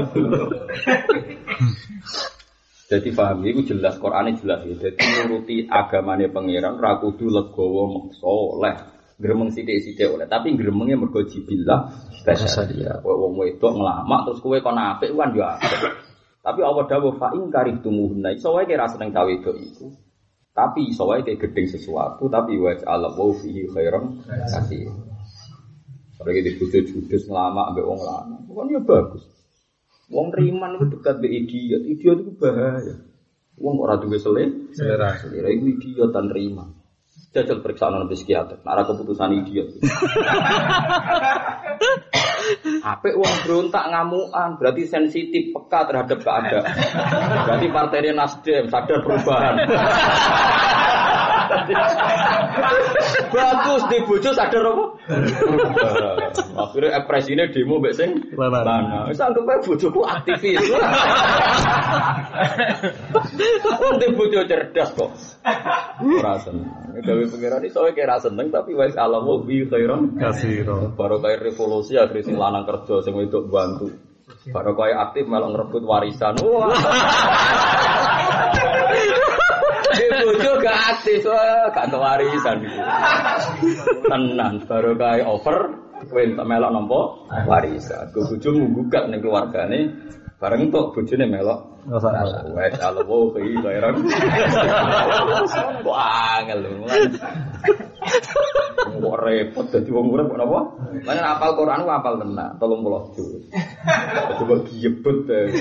Jadi paham itu jelas Qur'ane jelas ya. Jadi nuruti agamane pangeran ra kudu legowo meksa oleh. Gremeng sithik-sithik oleh, tapi gremenge mergo jibillah basyariyah. Wong wedok nglamak terus kowe kon apik kan yo apik. Tapi Allah dawuh fa in karihtumuhunna iso wae kira seneng cawe wedok iku. Tapi iso wae kayak gedeng sesuatu tapi wa ja'ala wa fihi khairan katsir. Ora iki dibujuk judes nglamak ambek wong lanang. Kan yo bagus. Wong riman itu dekat be idiot, idiot itu bahaya. Wong ora duwe selera, selera, selera itu idiot dan riman. Jajal periksaan nang psikiater, nek keputusan idiot. Apik wong berontak ngamukan, berarti sensitif, peka terhadap keadaan. Berarti partainya Nasdem sadar perubahan. Bagus di bojo sadar apa? Akhirnya ekspresinya demo mbek sing lanang. Wis anggap ae bojoku aktivis. Wong di bojo cerdas kok. Ora seneng. Gawe pengiran iso wae kira seneng tapi wis alamu bi khairan katsira. Baru kaya revolusi akhir sing lanang kerja sing wedok bantu. Baru kaya aktif malah ngerebut warisan. Wah. Bojo gak aktif, wah, gak entuk warisan iki. Tenan, baru kaya over, kowe entuk melok nampa warisan. Go bojomu gugat ning keluargane, bareng entuk bojone melok. Wes alowo iki kaya kok angel lho. Kok repot dadi wong urip kok napa? Lan apal Quran ku apal tenan, tiga puluh juz. Coba giyebet.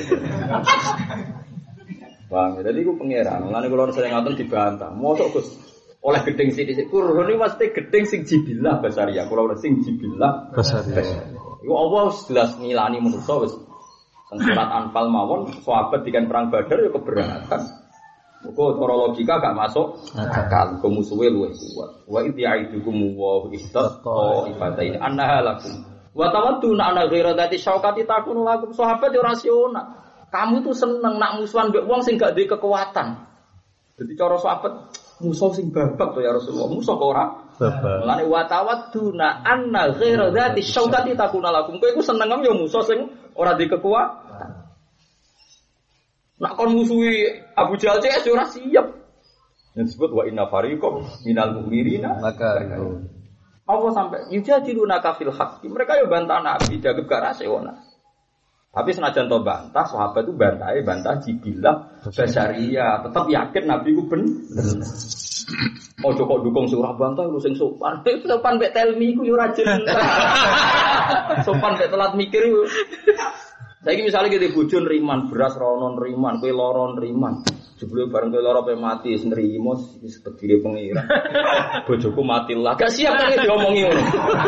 Bang, jadi aku pangeran. Mulane kula sering ngoten dibantah. Mosok Gus oleh gedeng sithik-sithik. Kurun iki mesti gedeng sing jibillah basaria. Kula ora sing jibillah basaria. Iku Allah jelas ngilani manusa wis. Teng surat Anfal mawon sahabat dikan perang Badar ya keberatan. Kok cara logika gak masuk akal. Musuhe luwih kuat. Wa idh ya'idukum wa istatta ibadain annaha lakum. Wa tawadduna ana ghaira dzati syaukati takunu lakum. Sahabat yo rasional. Kamu tuh seneng nak musuhan mbek wong sing gak duwe kekuatan. Jadi cara sahabat musuh sing babak to ya Rasulullah. Musuh kok ora babak. Mulane wa tawadduna anna ghaira dzati syaukati takunu lakum. Kowe iku seneng yo musuh sing ora duwe kekuatan. Nak kon musuhi Abu Jahal C S ora siap. Yang disebut wa inna fariqam minal mu'minina maka Allah sampai yujadiluna kafil haqqi. Mereka yo bantah Nabi jaga gak rasional. Tapi senajan to bantah, sahabat itu bantahe bantah jibillah basaria, tetap yakin Nabi ku bener. Ojo kok dukung surah bantah lu sing sopan. Sopan mbek telmi ku yo ora jelas. Sopan mbek telat mikir yo. Saiki misale kita bojo nriman beras rono nriman, kowe lara nriman. Jebule bareng kowe lara pe mati wis nrimo wis tegire pengira. Bojoku mati lah. Gak siap nang diomongi ngono.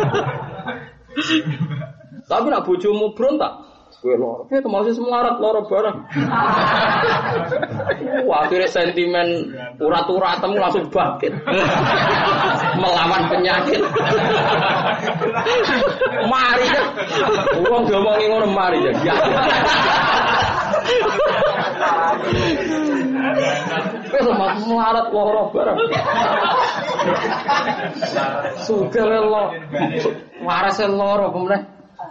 Tapi nak bojomu berontak kowe loro, kowe termasuk semarat loro bareng. Wah, akhirnya sentimen urat-uratmu langsung bangkit. Melawan penyakit. Mari ya. Wong diomongi ngono mari ya. Kowe termasuk semarat loro bareng. Sugih loro. Waras loro kemudian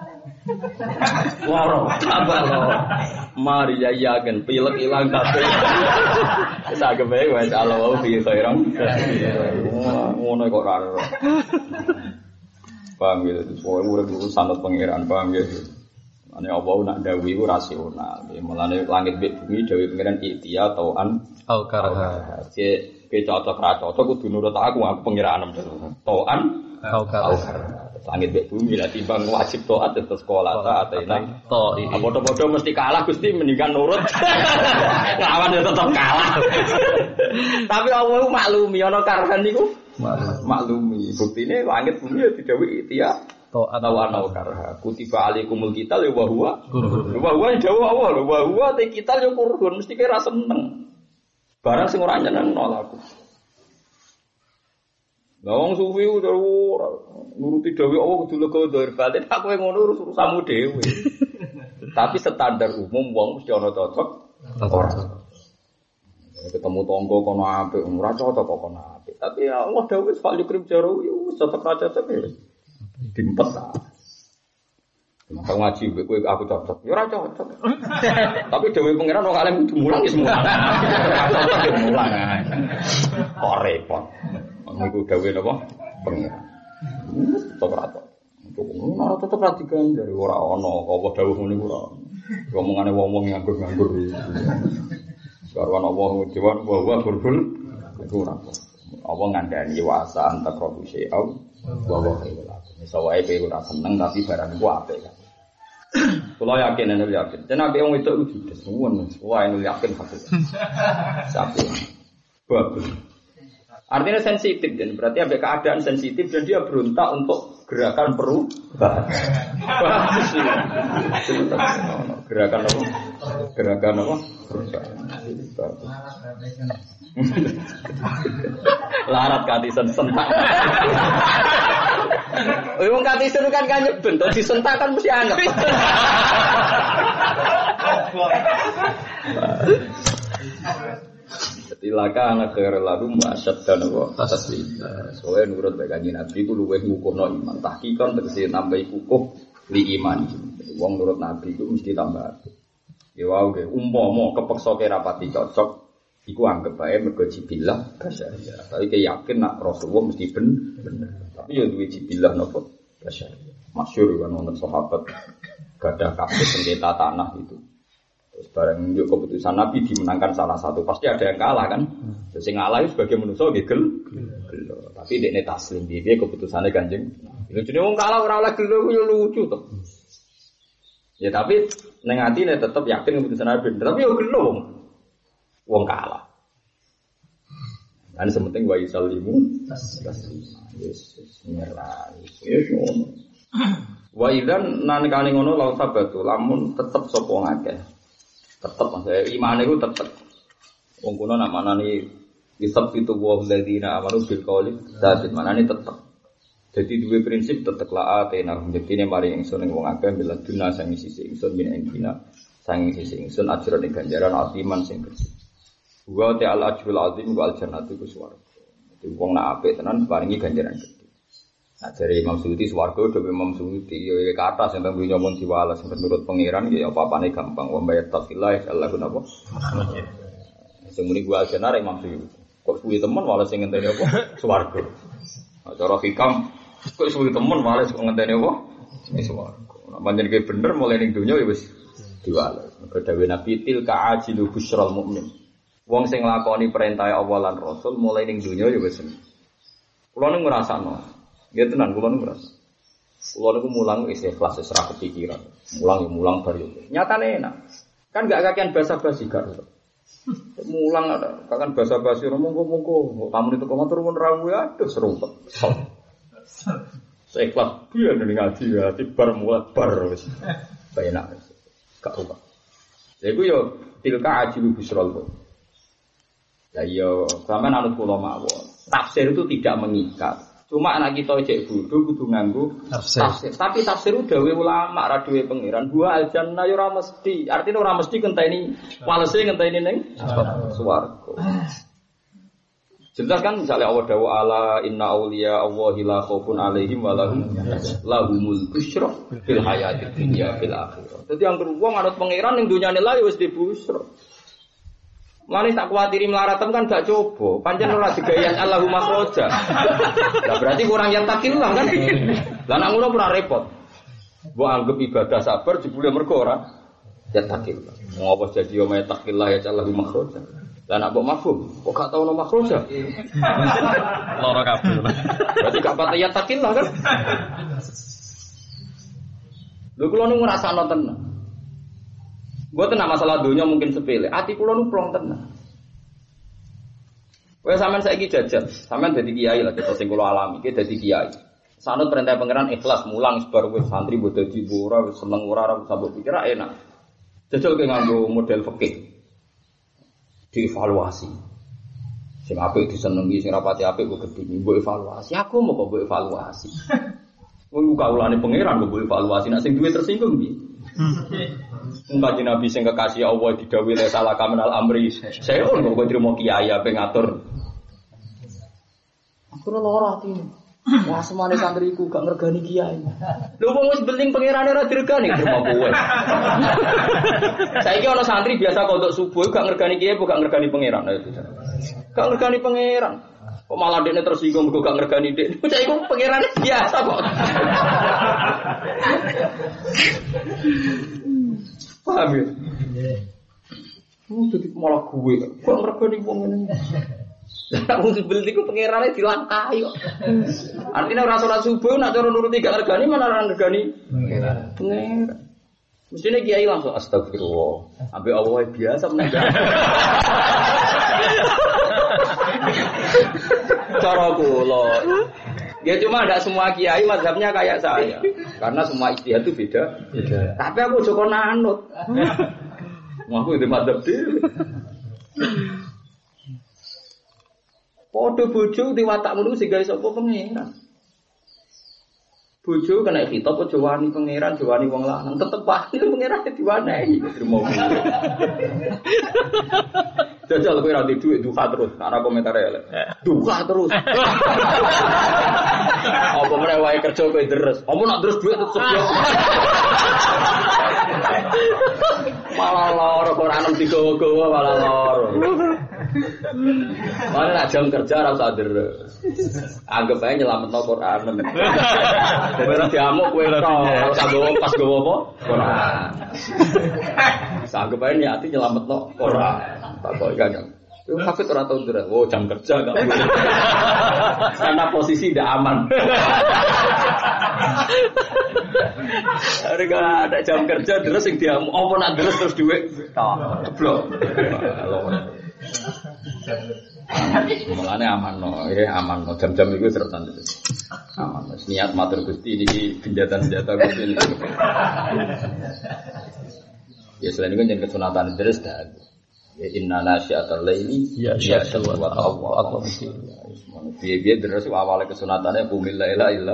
loro, tambah loro. Mari ya yakin pilek ilang kabeh. Sak kepe wis Allah fi khairan. Ngono kok ora. Paham ya, terus kowe urip iku sanad pangeran, paham ya. Ane Allah nak dawuh iku rasional. Mulane langit mbek bumi dawuh pangeran ikhtiya tauan au karha. Cek ke cocok ra cocok kudu nurut aku, aku pangeran tauan au karha. Langit mbek bumi lah timbang wajib taat terus sekolah taat enak. To, padha-padha mesti kalah Gusti mendingan nurut. Lawan ya tetep kalah. Tapi Allah maklumi ana karhan niku. Maklumi. Buktine langit bumi ya didhawuhi ikhtiya taat ana karha. Kutiba alaikumul qital wa huwa. Wa huwa dawuh Allah lho, wa huwa te qital yo kurun mesti kira seneng. Barang sing ora nyenengno aku. Lawang suwi udah nuruti dewi Allah kudu lega dhahir batin aku yang ngono urusanmu dhewe. Tapi standar umum wong mesti ana cocok ora. Ketemu tangga kono apik ora cocok kok kono apik. Tapi ya Allah dawuh wis fal yukrim jaro wis cocok ra cocok ya. Dimpet ta. Maka ngaji kowe aku cocok. Ya ora cocok. Tapi dewe pangeran kok kalem kudu mulang ya semua. Cocok ya mulang. Kok repot. Niku dawuh napa? Pangeran. Tetep ra cocok. Ora tetep ra diganjar ora ana apa dawuh ngene ora. Omongane wong-wong nganggur-nganggur. Sarwan Allah ngujiwan bahwa berbul itu ora. Apa ngandani wasa antak robu syai'au bahwa khairul lakum. Misawae kowe ora seneng tapi barang iku apik kan. Kula yakin nek yakin. Tenan wong itu udah semua. Wah, ini yakin fakir. Sapi. Bagus. Artinya sensitif dan berarti ada keadaan sensitif dan dia berontak untuk gerakan perubahan. Bagus sih. Gerakan apa? Gerakan apa? Perubahan. Larat katisen sentak. Wong katisen kan kan nyeben, to disentak kan mesti anget. Tilaka anak kere lalu masyad dan apa taslim. Soalnya nurut baik kanjeng Nabi ku luweh ngukuhno iman. Tahqiqan tegese nambahi kukuh li iman. Wong nurut Nabi iku mesti tambah apik. Ya wae ge umpama kepeksa kira rapati cocok iku anggap bae mergo jibillah basyariah. Tapi ke yakin nak Rasulullah mesti bener. Tapi ya duwe jibillah napa basyariah. Masyhur kan wonten sahabat gadah kabeh sengketa tanah itu. Terus bareng njuk keputusan Nabi dimenangkan salah satu, pasti ada yang kalah kan. Terus sing ngalah itu sebagai manusa nggih gel. Tapi dekne taslim piye keputusane Kanjeng. Lha jenenge wong kalah ora oleh gelo yo lucu to. Ya tapi ning atine tetep yakin keputusan Nabi, tapi yo gelo wong. Wong kalah. Kan sementing wa yusallimu taslima. Yesus nyerah. Yesus ngono. Wa idzan nalikane ngono la sabatu lamun tetep sapa ngakeh. Tetep maksudnya iman itu tetep. Wong kuno nak manani isab itu wa alladzina amanu bil qauli sabit manani tetep. Jadi dua prinsip tetep la atena jektine mari ingsun ing wong akeh bila dunya sang sisi ingsun min engkina sang sisi ingsun ajrone ganjaran atiman sing gede. Wa ta'al ajrul azim wa al jannatu kuswarga. Dadi wong nak apik tenan paringi ganjaran gede. Nah dari Imam Suyuti swarga dhewe Imam Suyuti yo kata sing teng dunya mun diwales sing nurut pangeran ya apa-apane gampang wa bayat taqillah Allah napa. Semuni gua aljanar Imam Suyuti. Kok suwi temen wales sing ngenteni apa? Swarga. Nah cara hikam kok suwi temen wales kok ngenteni apa? Swarga. Nek pancen ki bener mulai ning dunya ya wis diwales. Mergo dawuh Nabi tilka ajilu busyral mukmin. Wong sing nglakoni perintah Allah lan Rasul mulai ning dunya ya wis seneng. Kulo ning ngrasakno nggih tenan kula niku ngrasa. Kula niku mulang ikhlas wis ra kepikiran. Mulang ya mulang bar yo. Nyatane enak. Kan enggak kakean basa-basi gak. Mulang ada, kan basa-basi monggo-monggo. Tamu itu komentar mun rawu aduh serumpet. Seikhlas biyen ning ngaji ya tibar mulat bar wis. Enak. Gak rubah. Lha iku yo tilka ajilu bisrol. Ya yo sampean anut kula mawon. Tafsir itu tidak mengikat. Cuma anak kita cek bodoh kudu nganggo tafsir. tafsir. Tapi tafsir dawuh ulama ra dawuh pangeran. Gua aljanna yo ora mesti. Artinya ora mesti ngenteni walese ngenteni ning swarga. Jelas kan misalnya Allah dawuh ala inna auliya Allahi la khaufun alaihim wa lahum lahumul busyra fil hayatid dunya fil akhirah. Dadi yang wong anut pangeran ning dunyane la wis dibusra. Mulane tak kuwatiri mlaratem kan gak coba. Pancen ora digayan Allahumma khroja. Lah berarti kurang yang takillah kan. Lah nek ngono ora repot. Mbok anggap ibadah sabar jebule mergo ora ya takillah. Mau apa jadi yo me takillah ya Allahumma khroja. Lah nek mbok mafhum, kok gak tau ono makhroja. Lara kabeh. Berarti gak pati ya takillah kan. Lho kula nu ngrasakno tenan. Mboten masalah dunya mungkin sepele. Ati kula nu plong tenan. Kowe sampean saiki jajal, sampean dadi kiai lah kita sing kula alami, iki dadi kiai. Sanut perintah pangeran ikhlas mulang sebar wis santri mbok dadi ora wis seneng ora ora sambut pikir enak. Jajal ke nganggo model fikih. Dievaluasi. Sing apik disenengi, sing rapati apik kok gedhi mbok evaluasi. Aku mau kok mbok evaluasi. Wong kaulane pangeran kok mbok evaluasi, nek sing duwe tersinggung piye? Kanjeng Nabi sing kekasih Allah didhawuhi la salah kaminal amri. Saya kok kok trimo kiai ape ngatur. Aku ora atine. Wah semane santriku gak ngergani kiai. Lho wong wis beling pangerane ora diregani trimo kowe. Saiki ana santri biasa kodok subuh gak ngergani kiai apa gak ngergani pangeran. Gak ngergani pangeran. Kok malah dekne tersinggung mergo gak ngergani dek. Saiki pangerane biasa kok. Paham ya? Oh, jadi malah gue. Kok ngergani wong ngene. Lah wong sebel iku pangerane dilangkahi kok. Artinya ora salat subuh nak cara nuruti gak ngergani mana ora ngergani pangeran. Pangeran. Mestine kiai langsung astagfirullah. Ambe Allah biasa menang. Cara kula. Ya cuma tidak semua kiai mazhabnya kayak saya. Karena semua ijtihad itu beda. Beda. Tapi aku joko nanut. Aku itu mazhab dhewe. Padha bojo di watak ngono sing gawe sapa pangeran. Bojo kena khitab aja wani pangeran, jawani wong lanang, tetep wani pangeran diwanehi. Terima Jajal kowe ra duwe dhuwit duha terus. Ana komentar elek. Duha terus. Apa meneh wae kerja kowe deres. Apa nak terus dhuwit tetep yo. Malah loro ora anem digowo-gowo malah loro. Mana nak jam kerja ora usah deres. Anggap ae nyelametno Quran. Ora diamuk kowe tok, ora usah gowo pas gowo apa? Quran. Anggap ae niati nyelametno Quran. Tak kok gak. Yo hafid ora tau deres. Oh, jam kerja gak boleh. Karena posisi tidak aman. Harga ada jam kerja terus sing diamuk apa nak deres terus dhuwit. Blok. Mulane aman no, ya aman no. Jam-jam itu seretan itu. Aman. Niat matur Gusti niki senjata-senjata Gusti ini. Ya selain itu jangan kesunatan deres dah. Ya inna nasyiatal laili ya syawwa Allah. Biye-biye deres awale kesunatannya bumil la ilaha illa.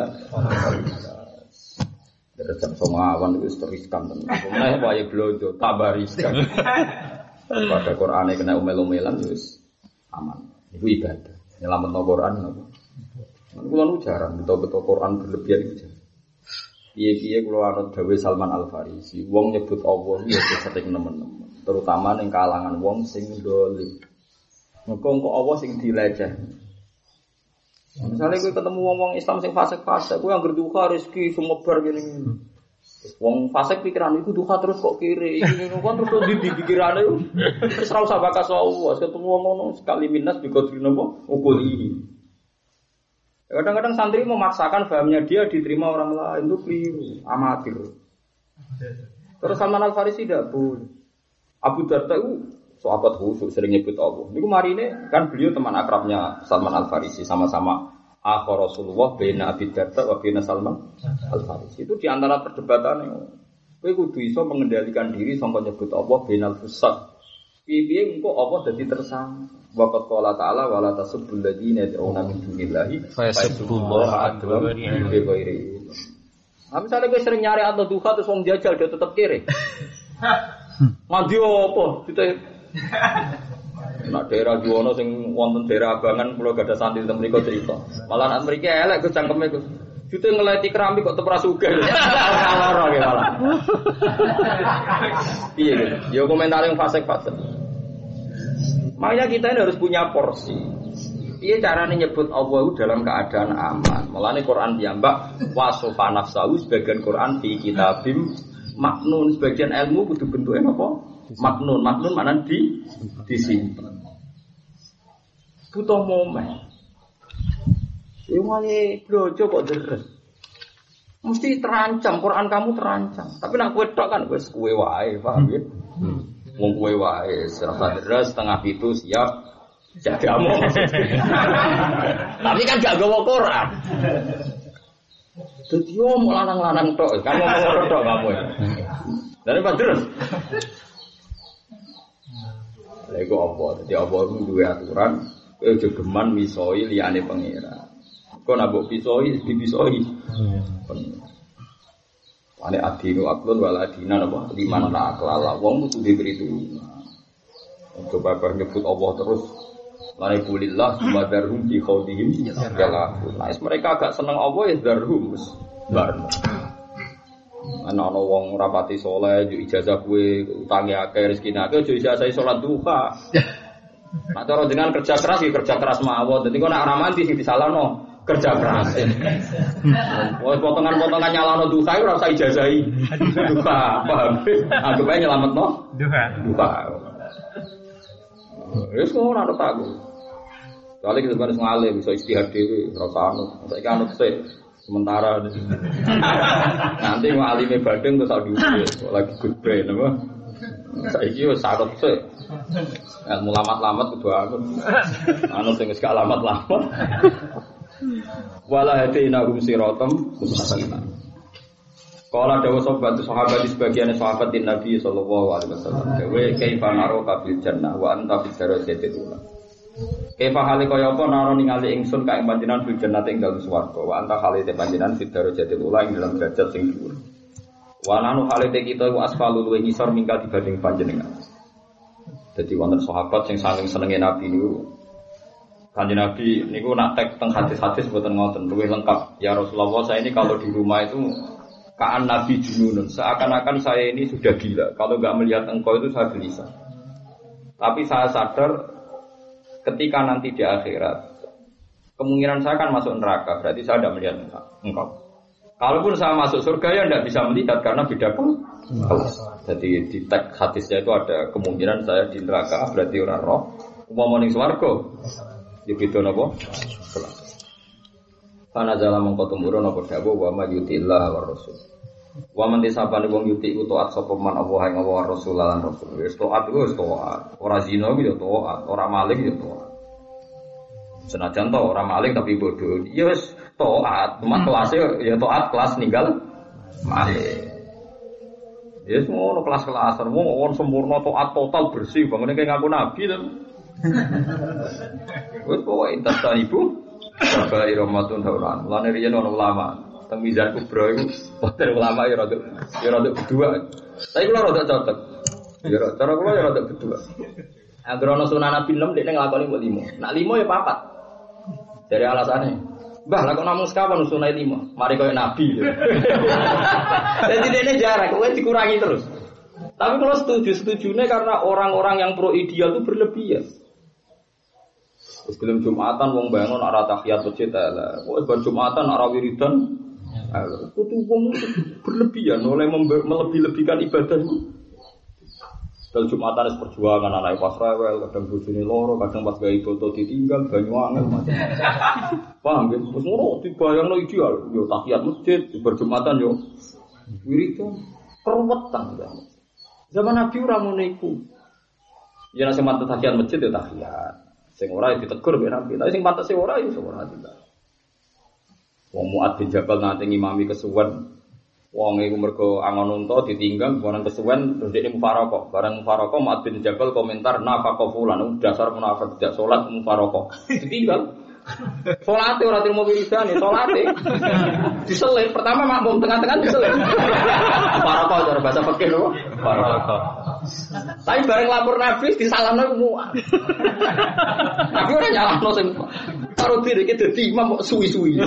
Deres sama awan itu riskan tenan. Mulane wae blojo tambah riskan. Pada Qur'ane kena umel-umelan wis aman. Iku ibadah. Nyelametno Qur'an napa? Kulo nu jarang beto-beto Qur'an berlebihan itu. Piye-piye kulo anut dawuh Salman Al-Farisi, wong nyebut Allah ya sering nemen-nemen, terutama ning kalangan wong sing dolim. Mengko engko Allah sing dileceh. Misalnya kowe ketemu wong-wong Islam sing fasik-fasik, kowe anggere duka rezeki sumebar ngene. Wong fasik pikiran iku duha terus kok kiri. Iki kan terus di pikirane wis ora usah bakas Allah, ketemu ngomong sekali minus biqadri napa ukuli. Kadang-kadang santri memaksakan pahamnya dia diterima orang lain itu keliru, amatir. Terus Salman Al-Farisi tidak boleh. Abu Darda itu sahabat khusus sering nyebut Allah. Niku marine kan beliau teman akrabnya Salman Al-Farisi sama-sama akhir Rasulullah baina Abi Darda wa baina Salman Al-Farisi. Itu di antara perdebatan kowe kudu iso mengendalikan diri sampai nyebut Allah bainal fusaq. Piye-piye engko Allah dadi tersangka. Waqat qala ta'ala wala tasubbul ladina yad'una min dunillahi fayasubbullaha adwa bi ghairi. Nah, misalnya kowe sering nyari atau duha terus wong jajal dia tetep kiri. Mandi apa? Kita nak daerah Juwono sing wonten daerah Abangan kula gadah santri teng mriku cerita. Malah nak mriki elek Gus cangkeme Gus. Jute ngeleti keramik kok tepra sugih. Lara ge malah. Piye gitu. Yo komentar yang fasik-fasik. Makanya kita ini harus punya porsi. Iya caranya nyebut Allah dalam keadaan aman. Mulane Quran diambak wasofa nafsahu sebagian Quran di kitabim maknun sebagian ilmu kudu bentuknya apa? Maknun, maknun mana di disimpan. Butuh momen. Yo wae blojo kok deres. Mesti terancam Quran kamu terancam. Tapi nak kowe tok kan wis kowe wae, paham ya? Hmm. Wong kowe wae serasa deres setengah pitu siap jagamu. Tapi kan gak gawa Quran. Dadi omong lanang-lanang tok, kan ngomong tok kamu. Dari padres. Lha iku apa? Dadi apa iku duwe aturan, kowe aja geman misoi liyane pangeran. Kok nak mbok pisoi, dibisoi. Ane adinu aklun wala adina napa liman la aklala wong kudu diberi tulungan. Coba bar nyebut Allah terus lane kulillah sumadarhum di khaudihim jala. Nah, mereka agak seneng Allah ya darhum wis barno. Ana ana wong rapati saleh yo ijazah kowe utange akeh rezekine akeh yo ijazah salat duha. Nek cara dengan kerja keras ya kerja keras mawon. Dadi kok nek ora mandi sing disalahno kerja keras. Woi potongan-potongan nyalano duha ora usah ijazahi. Duha, paham? Anggap ae nyelametno duha. Duha. Wis kok ora tak aku. Soale kita harus ngalim iso istihad dhewe, ora usah anut. Saiki anut sik sementara. Nanti ngalime badeng terus diukur lagi goodbye napa? Saiki wis anut sik. Ilmu lamat-lamat kudu anut. Anut sing wis gak lamat-lamat. Wala hadaina hum siratam mustaqim. Kala dawuh sahabat sahabat di sebagian sahabat Nabi sallallahu alaihi wasallam. Dewe kaifa naro kabil jannah wa anta fi darajatil ula. Kaifa hale kaya apa naro ningali ingsun ka ing panjenengan fil jannati ing dalem swarga wa anta hale te panjenengan fi darajatil ula ing dalam derajat sing dhuwur. Wa nanu hale te kita wa asfalu luwih ngisor mingkal dibanding panjenengan. Jadi wonten sahabat sing saking senenge Nabi niku. Kanjeng Nabi niku nak tek teng hadis-hadis mboten ngoten, luwih lengkap. Ya Rasulullah, saya ini kalau di rumah itu kaan Nabi jununun, seakan-akan saya ini sudah gila. Kalau enggak melihat engkau itu saya gelisah. Tapi saya sadar ketika nanti di akhirat kemungkinan saya akan masuk neraka, berarti saya tidak melihat engkau. Kalaupun saya masuk surga ya tidak bisa melihat karena beda kelas. Jadi di teks hadisnya itu ada kemungkinan saya di neraka, berarti orang roh. Umpama ning swarga, ya beda napa? Kelas. Kana jala mongko tumurun apa dawuh wa may yutillah war rasul. Wa man disabane wong yuti taat sapa man Allah ing Allah rasul lan rasul. Wis taat wis taat. Ora zina ya taat, ora maling ya taat. Senajan to ora maling tapi bodoh. Ya wis taat, cuma kelasnya ya taat kelas ninggal maling. Ya semua kelas-kelasan, wong sempurna taat total bersih, bangunnya kayak ngaku nabi kan. Wes pokoke intas ibu, bapak Ramadan tahunan. Lan riyen ana ulama, teng Mizan Kubra iku, padha ulama ya rada ya rada berdua. Tapi kula rada cocok. Ya cara kula ya rada berdua. Anggere ana sunah Nabi enam dekne nglakoni mbok lima. Nak lima ya papat. Dari alasannya Mbah, lah kok namung sekawan sunai lima. Mari koyo nabi. Jadi dene jarak, kowe dikurangi terus. Tapi kalau setuju-setujune karena orang-orang yang pro ideal itu berlebihan. Terus belum Jumatan wong bangun arah tahiyat masjid ala. Wong bar Jumatan arah wiridan. Itu wong berlebihan oleh melebih-lebihkan ibadah itu. Kalau Jumatan es perjuangan anak pas rewel, kadang bojone loro, kadang pas gawe foto ditinggal, banyu angel macam. Paham nggih? Wis ngono dibayangno ideal, yo tahiyat masjid, berjumatan yo wiridan, keruwetan. Zaman Nabi ora ngono iku. Ya nek sing pantes tahiyat masjid yo tahiyat. Sing ora ditegur mek Nabi, tapi sing pantes ora yo ora tidak. Wong Mu'ad bin Jabal nate ngimami kesuwen. Wong iku mergo angon unta ditinggal barang kesuwen terus dekne mufaraqah. Barang mufaraqah Mu'ad bin Jabal komentar nafaqah fulan dasar munafik tidak salat mufaraqah. Ditinggal. Salate ora trimo wiridane, salate. Diselir pertama makmum tengah-tengah diselir. Mufaraqah cara bahasa fikih lho. Mufaraqah. Tapi bareng lapor Nabi disalamno Mu'ad. Nabi ora nyalahno sing karo diri iki dadi imam kok suwi-suwi.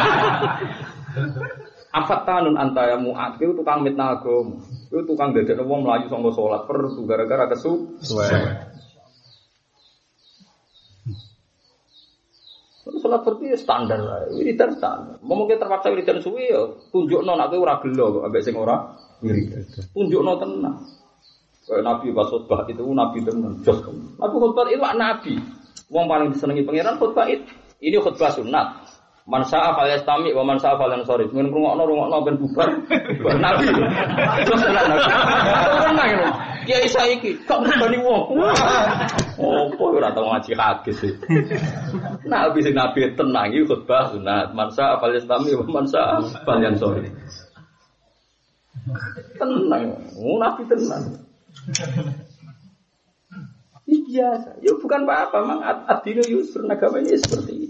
Afatanun anta ya Mu'ad, itu tukang mitnah agama. Itu tukang dadekno wong mlayu saka salat perdu gara-gara kesu. Salat perdu ya standar wae, wiridan standar. Mungkin terpaksa wiridan suwi ya tunjukno nek kowe ora gelo kok ambek sing ora wiridan. Tunjukno tenan. Kayak Nabi pas khutbah itu Nabi tenan jos. Nabi khutbah itu nabi. Wong paling disenengi pangeran khutbah itu. Ini khutbah sunat. Man sa'a falyastami wa man sa'a falyansarif. Men ngrungokno rungokno ben bubar. Nabi. Terus ana Nabi. Tenang lho. Kiai saiki kok mbani wong. Opo ora tau ngaji hadis iki. Nabi sing nabi tenang iki khutbah sunat. Man sa'a falyastami wa man sa'a falyansarif. Tenang. Oh Nabi tenang. Ini biasa. Ya bukan apa-apa, mang ad-dinu yusr, agamanya seperti itu.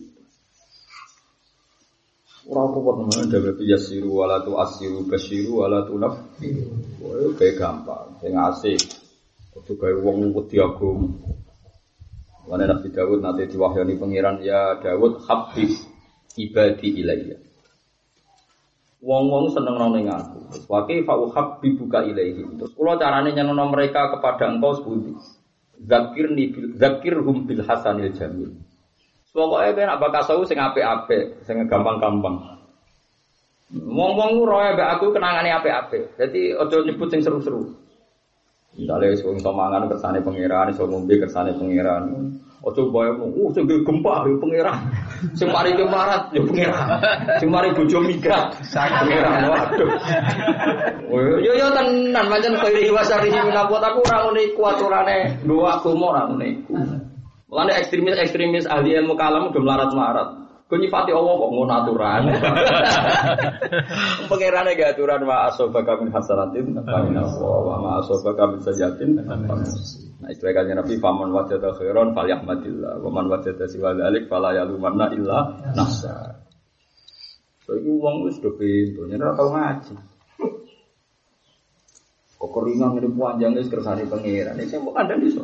Ora apa-apa namanya dawe yasiru wala tu asiru basiru wala tu nafiru. Wah, kayak gampang, sing asik. Kudu gawe wong wedi agama. Lan Nabi Daud nate diwahyani pangeran ya Daud habib ibadi ilayya. Wong-wong seneng ning aku. Wa kaifa uhabbibuka ilaihi. Terus kula carane nyenengno mereka kepada engkau sepundi. Zakirni bil zakirhum bil hasanil jamil. Pokoke ben apa kasau sing apik-apik, sing gampang-gampang. Wong-wong roe mbek aku kenangane apik-apik. Dadi aja nyebut sing seru-seru. Misale wong iso mangan kersane pangeran, iso ngombe kersane pangeran. Aja bayangno, oh sing gempa yo pangeran. Sing mari kemarat yo pangeran. Sing mari bojo migrat, pangeran. Waduh. Oh yo yo tenan pancen kaya wasari minapot aku ora ngene iku aturane nggo agama ora ngene iku. Mulane ekstremis-ekstremis ahli ilmu kalam udah melarat-melarat. Kau nyifati Allah kok ngono aturan. Pangerane gak aturan wa asobaka min hasanatin fa wa ma asobaka min sayyatin. Nah istilahnya Nabi faman wajada khairan falyahmadillah wa man wajada siwa dzalik fala yalumanna illa nafsa. So iku wong wis do pintu, yen ora tau ngaji. Kok keringan ngene panjang wis kersane pangeran. Iki kok kandhane iso.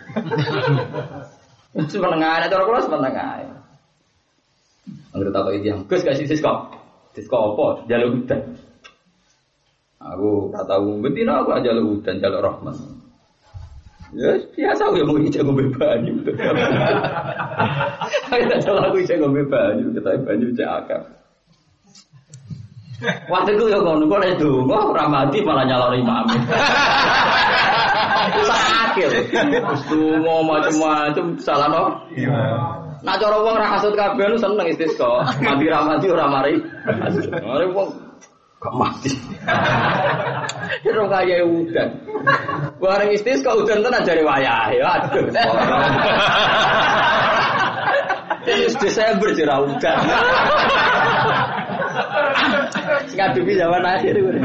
Semenengane cara kula semenengane. Anggere tak iki yang Gus gak sisi kok. Disko apa? Jaluk udan. Aku tak tahu betina aku aja jaluk udan, jaluk rahmat. Ya biasa aku yang mau jago banyu. Aku tak tahu aku jago banyu, kita banyu cakap. Waktu itu ya ngono kok nek donga ora mati malah nyaloni imam. Sakit. Wis donga macam-macam salah no. Nah cara wong ra kasut kabeh nu seneng istisqa. Mati ra mati ora mari. Mari wong gak mati. Kira kaya udan. Bareng istisqa udan tenan jare wayahe. Aduh. Terus Desember jera udan. Ngadepi zaman akhir itu.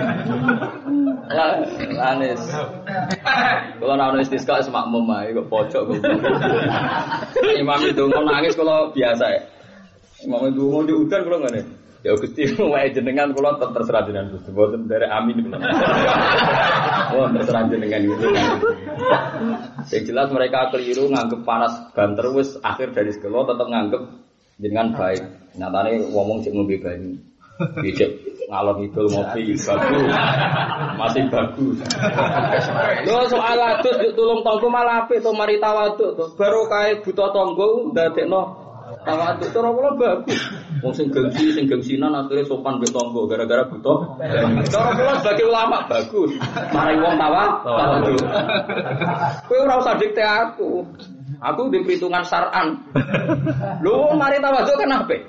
Anis. Kalau nak istisqa semak memai kok pojok kok. Imam itu mau nangis kalau biasa ya. Imam itu mau di udan kalau nggak nih. Ya Gusti wae jenengan kula terserah jenengan Gusti. Mboten derek amin. Oh, terserah jenengan itu. Yang jelas mereka keliru nganggep panas banter wis akhir dari sekolah tetap nganggep jenengan baik. Nyatane ngomong sik ngombe banyu. Dijek ngalor ngidul ngopi bagus. Masih bagus. Lho soal adus tulung tangga malah apik to mari tawaduk to. Baru kae buta tangga ndadekno tawaduk cara kula bagus. Wong sing gengsi sing gengsinan akhire sopan mbek tangga gara-gara buta. Cara kula sebagai ulama bagus. Mari wong tawaduk. Kowe ora usah dikte aku. Aku di perhitungan syar'an. Lho mari tawaduk kan apik.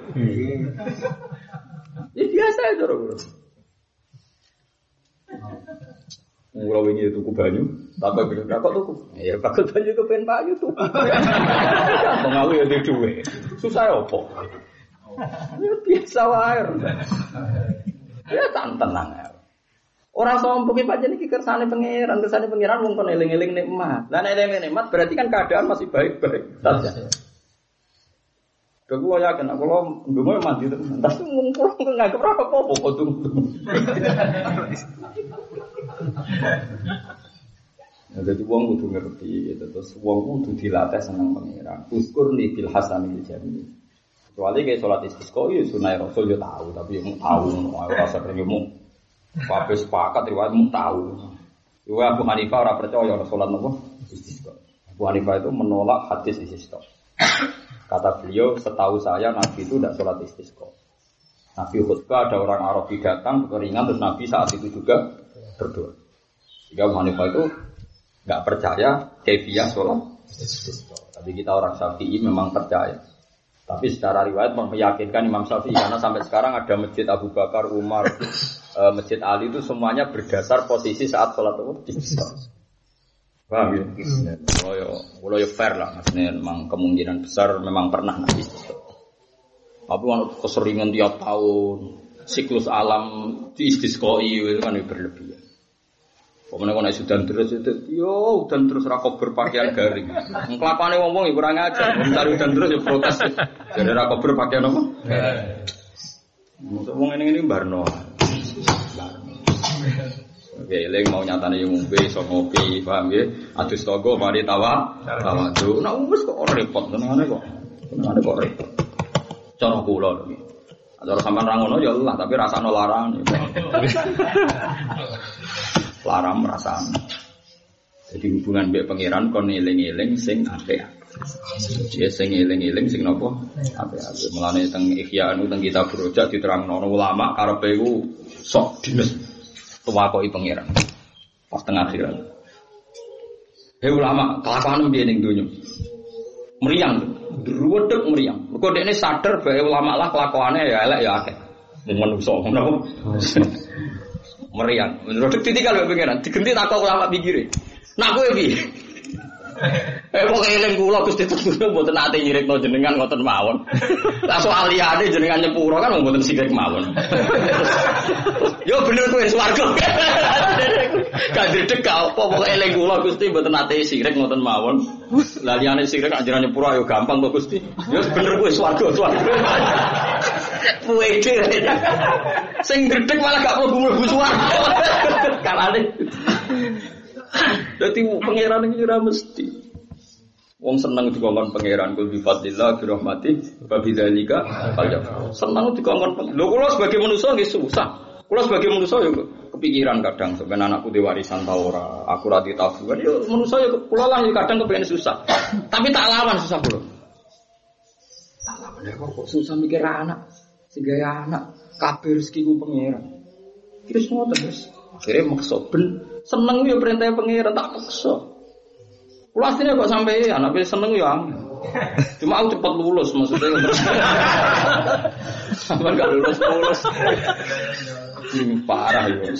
Ya biasa itu orang. Mula wingi tuku banyu, tak kok kok tuku. Ya bakal banyu ke pen banyu tuku. Pengawu ya duwe. Susah opo? Ya biasa wae. Ya tenang ya. Orang sombong iki pancen iki kersane pangeran, kersane pangeran wong kon eling-eling nikmat. Lah nek eling nikmat berarti kan keadaan masih baik-baik saja. Aku yakin, aku lo ndungo mandi terus. Tapi ngungkur nggak keberapa apa kok tuh. Jadi uang kudu ngerti, terus uang kudu dilatih senang pangeran. Uskur nih bil hasan bil jami. Kecuali kayak sholat istisqa, ya sunai rasul ya tahu, tapi yang tahu, aku rasa pergimu. Pakai sepakat riwayat mu tahu. Juga Abu Hanifah orang percaya sholat nopo istisqa. Abu Hanifah itu menolak hadis istisqa. Kata beliau, setahu saya Nabi itu tidak sholat istisqa. Nabi khutbah ada orang Arabi datang kekeringan terus Nabi saat itu juga berdoa. Jika Abu Hanifah itu nggak percaya kaifiyah sholat istisqa. Tapi kita orang Syafi'i memang percaya. Tapi secara riwayat meyakinkan Imam Syafi'i karena sampai sekarang ada masjid Abu Bakar, Umar, masjid Ali itu semuanya berdasar posisi saat sholat istisqa. Paham ya? Kalau ya, kalau ya fair lah, maksudnya memang kemungkinan besar memang pernah Nabi. Tapi kalau keseringan tiap tahun, siklus alam di istisqai itu kan berlebihan. Pokoknya kalau sudah terus itu, yo udan terus rakop berpakaian garing. Kelapane ngomong ya kurang ajar, mencari udan terus ya protes. Jadi rakop berpakaian apa? Maksud ngomong ini ini barno. Oke, leng mau nyatane yo ngombe iso ngopi, paham ya? Adus togo mari tawa, tawadhu. Nek wis kok repot tenane kok. Tenane kok repot. Cara kula iki. Cara sampean ra ngono ya Allah, tapi rasane larang. Larang rasane. Jadi hubungan mbek pangeran kon eling-eling sing apik. Ya sing eling-eling sing napa? Apik-apik. Mulane teng Ihya anu teng kitab Rojak diterangno ulama karepe iku sok dines tuwakoi pangeran pas tengah akhirat. Hei ulama, kelakuan piye ning donya? Meriang, druwedeg meriang. Mergo dekne sadar bae ulama lah kelakuane ya elek ya akeh. Wong manungsa ngono. Meriang. Druwedeg ditinggal bae pangeran, digenti takok ulama pikire. Nak kowe piye? Eh wong eling kula Gusti Tuhan mboten ate nyirikno jenengan ngoten mawon. Lah soal liyane jenengan nyepuro kan mboten sirik mawon. Yo bener kowe swarga. Gak dredeg gak apa wong eling kula Gusti mboten ate sirik ngoten mawon. Lah liyane sirik anjene nyepuro ayo gampang kok Gusti. Yo bener kowe swarga swarga. Puede. Sing dredeg malah gak mlebu-mlebu swarga. Kalane Dadi pangeran iki ora mesti. Wong seneng dikongkon pangeran kul bi fadlillah bi rahmati wa bidzalika falyafrah. Seneng dikongkon pangeran. Lho kula sebagai manusa nggih susah. Kula sebagai manusa yo kepikiran kadang sampeyan anakku di warisan ta ora, aku ra di tabungan yo manusa yo kula lah yo kadang kepengin susah. Tapi tak lawan susah kula. Tak lawan kok susah mikir anak. Sing gawe anak kabeh rezekiku pangeran. Terus ngoten terus. Akhire maksa ben seneng yo perintah pangeran tak paksa. Kulo asline kok sampai anak wis seneng yo angel. Cuma aku cepat lulus maksudnya. Sampai enggak lulus lulus. Ini parah yo.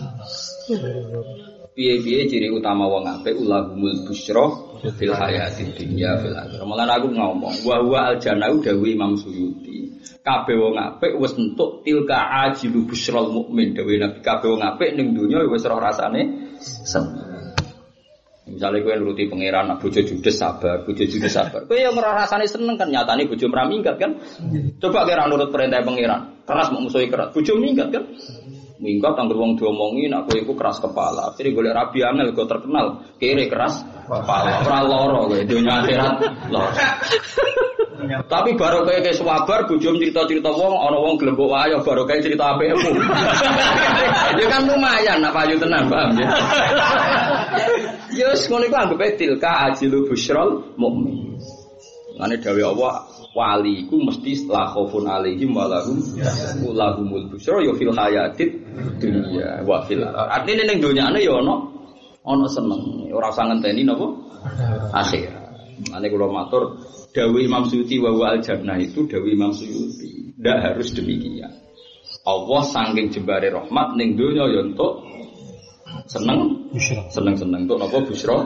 Piye-piye ciri utama wong apik ulahumul busyra fil hayatid dunya fil akhirah. Mulane aku ngomong wa huwa al jannah dawuh Imam Suyuti. Kabeh wong apik wis entuk tilka ajilu busyral mukmin dawuh Nabi. Kabeh wong apik ning donya wis roh rasane seneng. Misalnya kowe nuruti pangeran, bojo judes sabar, bojo judes sabar. Kowe yang ora rasane seneng kan nyatane bojo ora minggat kan. Coba kowe ora nurut perintah pangeran, keras mau musuhi keras. Bojo minggat kan. Minggat anggere wong diomongi nek kowe iku keras kepala. Akhire golek rabi angel go terkenal, kere keras kepala. Ora lara kowe dunya akhirat lara. Tapi baru kayak sabar bojo cerita-cerita wong ana wong glembok wae baru kayak cerita apikmu. Ya kan lumayan apa ayo tenan paham ya. Yes, ngono iku anggape tilka ajilu busyral mukmin. Ngene dawuh Allah, wali iku mesti la khaufun alaihim wa lahum lahumul busyra ya fil hayatid dunya wa fil artine ning donyane ya ana ana seneng. Ora usah ngenteni napa akhir. Ngene kula matur dawuh Imam Suyuti wa wa al jannah itu dawuh Imam Suyuti. Ndak harus demikian. Allah saking jembare rahmat ning donya ya entuk seneng, seneng-seneng untuk apa busra?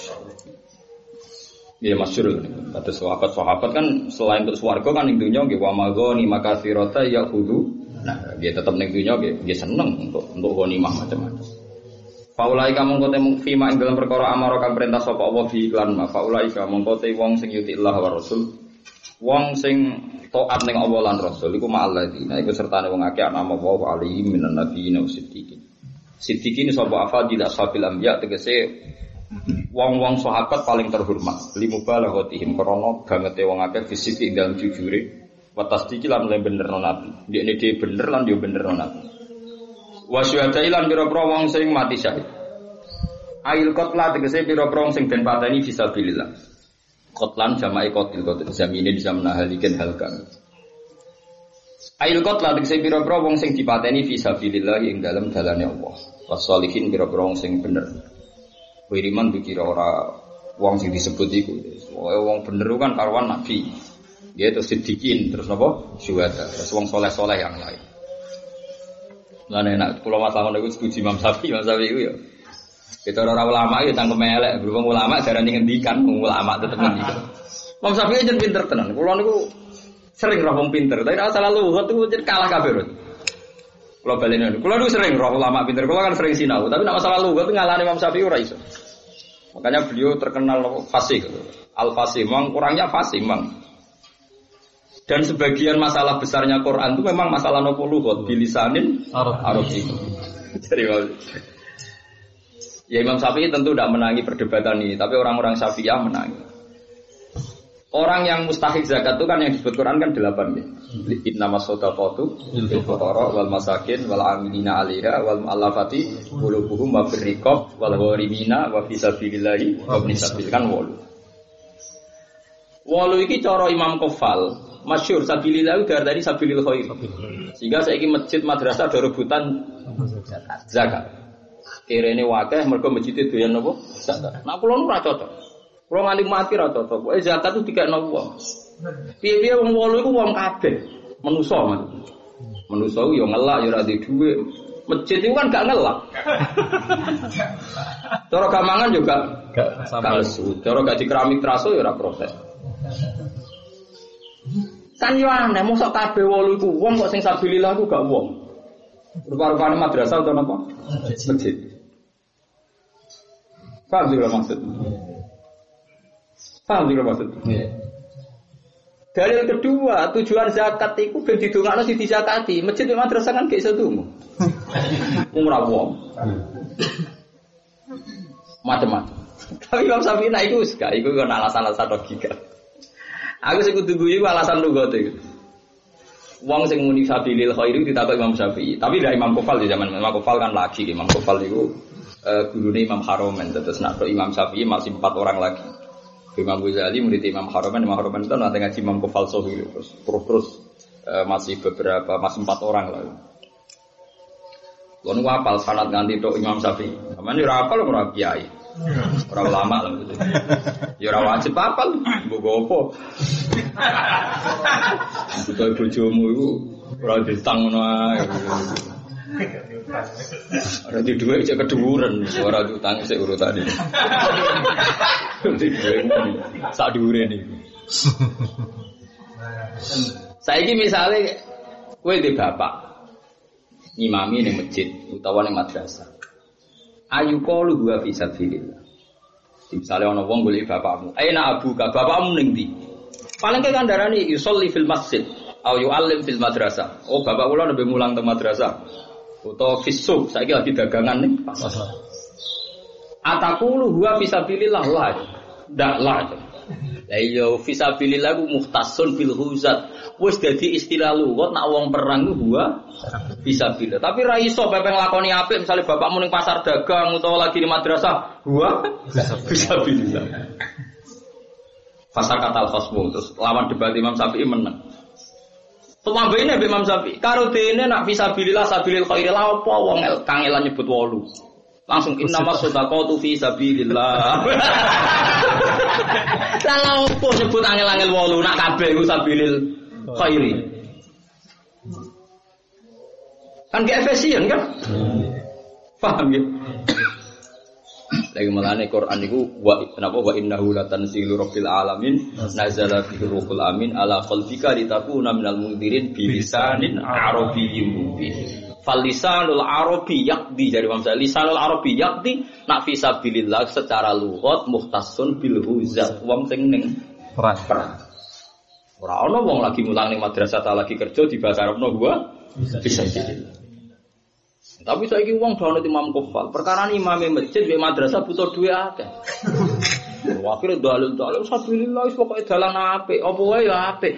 Ya masyhur. Kata sahabat-sahabat kan selain untuk swarga kan ning dunya nggih wa maghani makatsirata yakhudhu. Nah, dia tetap ning dunya nggih nggih seneng untuk untuk ghanimah macam-macam. Faulaika mongko te fima ing dalam perkara amara kang perintah sapa Allah fi iklan ma faulaika mongko te wong sing yuti Allah wa Rasul. Wong sing taat ning Allah lan Rasul iku ma'alladina iku sertane wong akeh ana wa alaihim minan nabiyyin wa siddiqin. Siddiqin sapa afadil ashabil anbiya tegese wong-wong sahabat paling terhormat limubalaghotihim krana bangete wong akeh fisik ing dalem jujure wa tasdiqi lan benerno nabi ndekne dhewe bener lan yo benerno nabi wa syuhada lan pira-pira wong sing mati syahid ail qatla tegese pira-pira wong sing den pateni fisabilillah qatlan jama'i qatil qatil zamine bisa menahalikan halkan ail qatla tegese pira-pira wong sing dipateni fisabilillah ing dalem dalane Allah wasolihin pira-pira wong sing bener wiriman dikira ora wong sing disebut iku wong bener kan karuan nabi dia itu siddiqin terus napa syuhada terus wong soleh-soleh yang lain. Lah nek kula masalah ngono iku setuju Imam Syafi'i Imam Syafi'i iku ya kita ora ulama ya tangkem elek berhubung ulama jarane ngendikan ulama tetep ngendikan. Imam Syafi'i jen pinter tenan kula niku sering roh wong pinter tapi nek salah luhut iku jen kalah kabeh. Kula baleni kula niku sering roh ulama pinter kula kan sering sinau tapi nek masalah luhut ngalahne Imam Syafi'i ora iso. Makanya beliau terkenal fasih. Al-fasih, memang kurangnya fasih, memang. Dan sebagian masalah besarnya Quran itu memang masalah nopo lughot bilisanin Arabi. Jadi ya Imam Syafi'i tentu tidak menangi perdebatan ini, tapi orang-orang Syafi'iyah menangi. Orang yang mustahik zakat itu kan yang disebut Quran kan delapan ya. Innamas shadaqatu lil fuqara wal masakin wal amilina 'alaiha wal mu'allafati qulubuhum wa fir riqab wal gharimina wa fi sabilillahi wa ibn sabil kan wolu. Wolu iki cara Imam Qafal masyhur sabilillah itu dari sabilil khair. Sehingga saiki masjid madrasah ada rebutan zakat. Kirene wakeh mergo masjid doyan napa? Zakat. Nah kula nu ora cocok. Kalau nganti mati ra cocok, eh zakat itu dikekno wong. Piye-piye wong wolu iku wong kabeh, manusa men. Manusa yo ngelak yo ora duwe dhuwit. Masjid itu kan gak ngelak. Cara gamangan juga gak lesu. Cara gak di keramik traso yo ora protes. Kan yo aneh mosok kabeh wolu iku wong kok sing sabilillah iku gak wong. Rupa-rupane madrasah utawa napa? Masjid. Paham sih maksud? Paham juga maksud? Yeah. Dalil kedua, tujuan zakat itu ben didongakno sing dizakati. Masjid lan madrasah kan gak iso ndonga. Wong ora wong. macam-macam. Tapi Imam Syafi'i nak iku gak iku kan alasan-alasan logika. Aku sing kudu guyu alasan lugat iku. Wong sing muni sabilil khairi ditakok Imam Syafi'i. Tapi dari Imam Kufal di zaman Imam Kufal kan lagi Imam Kufal itu uh, gurune Imam Haromen. Terus nak Imam Syafi'i masih empat orang lagi. Imam Ghazali murid Imam Haromen, Imam Haromen itu nanti ngaji Imam Kufal Sohi terus terus, terus uh, masih beberapa masih empat orang lagi. Lalu apal sanad nganti tok Imam Syafi'i. Sampeyan ora apal ora kiai. Ora ulama lho. Ya ora wajib apal, mbok opo. Butuh bojomu iku ora ditang ngono ae. Ora di dhuwit cek keduwuren, ora diutang sik urutane. Di dhuwit sak dhuwure niku. Saiki misale kowe di bapak imami ning masjid utawa ning madrasah. Ayu qalu huwa fi sabilillah. Misale ana wong golek bapakmu, "Aina abuka?" Bapakmu ning ndi? Paling ke kandarani yusolli fil masjid au yu'allim fil madrasah. Oh, bapak kula nembe mulang teng madrasah. Utawa fisuk, saiki lagi dagangan ning pasar. Ataqulu huwa fi sabilillah la. Ndak la. Lah iya fi sabilillah ku mukhtasun bil huzat. Wis dadi istilah lugat nak wong perang ku huwa fi sabilillah. Tapi ra iso pepe nglakoni apik misale bapakmu ning pasar dagang utawa lagi di madrasah huwa fi sabilillah. Fasal katal khosmu terus lawan debat Imam Syafi'i menang. Tumambene Mbak Imam Syafi'i karo dene nak fisabilillah sabilil khairi la apa wong kangelan nyebut wolu. Langsung innamas shadaqatu fi sabilillah. Lah opo nyebut angel-angel wolu nak kabeh iku sabilil khairi. Kan ge efisien kan? Paham ya? Lagi melane Quran itu wa kenapa wa innahu latanzilu rabbil alamin nazala bihi ruhul amin ala qalbika litakuna minal mundirin bilisanin arabiyyin mubin. Fal lisanul arabi yaqdi dari Imam Syafi'i lisanul arabi yaqdi nak fi sabilillah secara lughat mukhtasun bil huzat wong sing ning perang. Ora ana wong lagi mulang ning madrasah ta lagi kerja di bahasa Arabno gua bisa jadi. Tapi saiki wong dono Imam Kufal, perkara imame masjid mek madrasah butuh duwe akeh. Akhire dalil-dalil sabilillah wis pokoke dalan apik, apa wae ya apik.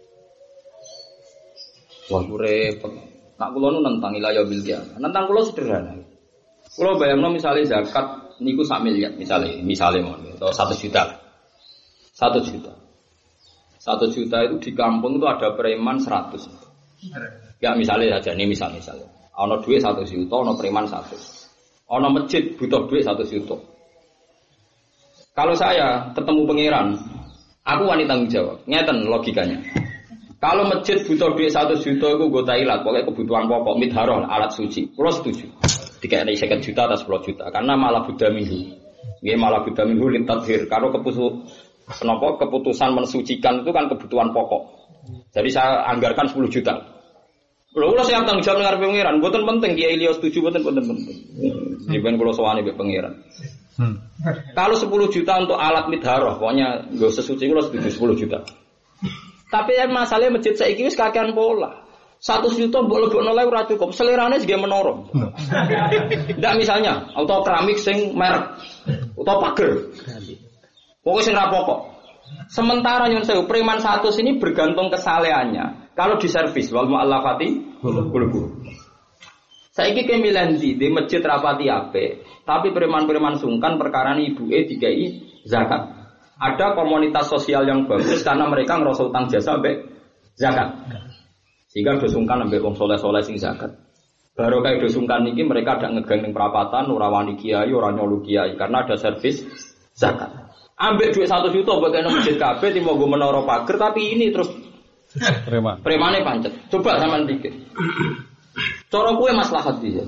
Wah repot. Nak kula nu nentang ilayah bil qiyamah. Nentang kula sederhana. Kula bayangno misale zakat niku sak miliar misale, misale mon atau satu juta. satu juta. satu juta itu di kampung itu ada preman seratus. Ya misalnya saja ini misal-misal. Ana duit satu juta, ana preman satu. Ana masjid butuh duit satu juta. Kalau saya ketemu pangeran, aku wanita tanggung jawab. Ngeten logikanya. Kalau masjid butuh duit satu juta, aku gue tailat. Pokoknya kebutuhan pokok, midharoh, alat suci. Kalau setuju. Dikasih second juta atau sepuluh juta. Karena malah buddha minggu. Ini malah buddha minggu lintadhir. Kalau keputusan, kenapa keputusan mensucikan itu kan kebutuhan pokok. Jadi saya anggarkan sepuluh juta. Kalau kalau saya tanggung jawab dengan pangeran, bukan penting Kiai Ilya setuju, bukan penting. Jadi kalau soalnya be pangeran. Hmm. Kalau sepuluh juta untuk alat midharoh, pokoknya gue sesuci kalau setuju sepuluh juta. Tapi yang masalahnya masjid saya ini kakean pola. Satu juta boleh lebih nolai ora cukup. Selerane juga menorong. Tidak misalnya, atau keramik sing merek, atau pager. Pokoknya sing rapokok. Sementara yang saya preman satu sini bergantung kesalehannya. Kalau di servis, wal mu'allafati, gulu-gulu. Saya ini kemilan di, di masjid rapati ape, tapi preman-preman sungkan perkara ini ibu e dikai zakat. Ada komunitas sosial yang bagus karena mereka ngerasa utang jasa sampai zakat. Sehingga dosungkan sampai wong soleh-soleh sing zakat. Baru kayak dosungkan ini mereka ada ngegang ning perapatan, ora wani kiai, ora nyolu kiai karena ada servis zakat. Ambil duit satu juta bagian masjid kabeh timo go menara pager tapi ini terus preman. Premane pancet. Coba sampean pikir. Cara kowe maslahat iki.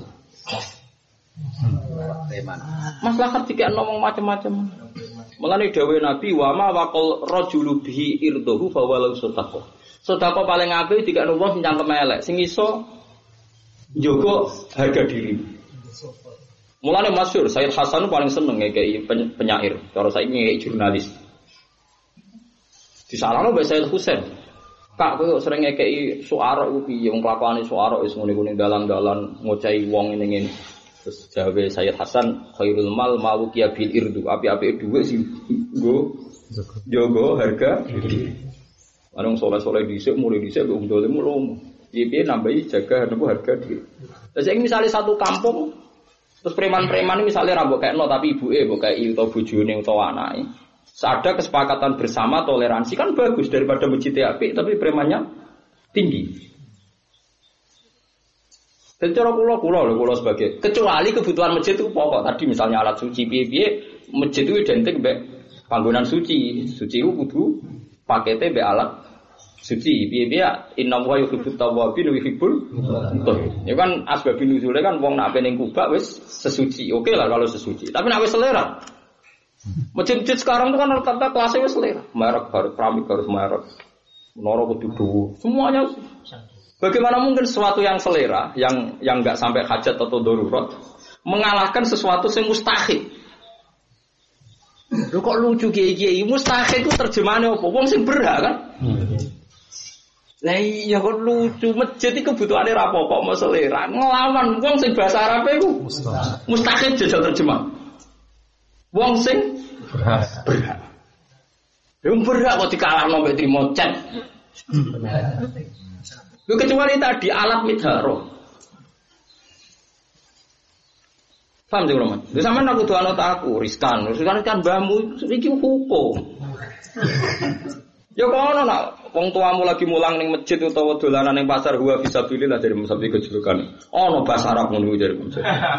Preman. Maslahat iki ngomong macam-macam. Mulane dawuh Nabi wa ma waqal rajulu bihi irdahu fa walau sadaqah. Sedekah paling apik dikakno wong sing cangkem elek, sing iso njogo harga diri. Mulane masyhur Sayyid Hasan paling seneng ngekeki penyair, cara saiki ngekeki jurnalis. Disalahno mbek Sayyid Husain. Kak kowe sering ngekeki suara iku piye wong kelakuane suara wis ngene-ngene dalan-dalan ngocahi wong ngene-ngene. Terus jawe Sayyid Hasan khairul mal malu kia bil irdu. Api-api duwe sing nggo jogo harga diri. Anong soleh-soleh dhisik mulai dhisik kok ndole mulo. Piye-piye nambahi jaga napa harga diri. Lah saiki misale satu kampung terus preman-preman ini misalnya rambut kayak no tapi ibuke mbok kayak utawa bojone utawa anake. Ada kesepakatan bersama toleransi kan bagus daripada masjid apik tapi premannya tinggi. Dan cara kula kula lho kula sebagai kecuali kebutuhan masjid itu pokok tadi misalnya alat suci piye-piye masjid itu identik mbek panggonan suci. Suci itu kudu pakete mbek alat suci. Piye-piye inna wa yuhibbut tawwabin wa yuhibbul mutatahhirin. Ya kan asbabun nuzule kan wong nak ning kubah wis sesuci. Oke lah kalau sesuci. Tapi nek wis selera. Masjid-masjid sekarang itu kan rata-rata kelasnya wis selera. Merek harus keramik harus merek. Menara kudu dhuwur. Semuanya bagaimana mungkin sesuatu yang selera, yang yang enggak sampai hajat atau darurat mengalahkan sesuatu yang mustahil. Lho kok lucu kiai-kiai mustahil itu terjemahannya apa? Wong sing berhak kan? Lah iya kok lucu masjid iki kebutuhane ra apa kok mau selera. Nglawan wong sing bahasa Arab iku mustahil jajal terjemah. Wong sing berhak. Berhak. Wong berhak kok dikalahno mbek trimo cek. Lu kecuali tadi alat midharo. Paham sih Roman? Lu sampean aku tuh anut aku, riskan, riskan kan mbahmu iki hukum. Ya kono nak wong tuamu lagi mulang ning masjid utawa dolanan ning pasar huwa fisabilillah dari musabbi kejulukan. Ono bahasa Arab ngono dari musabbi.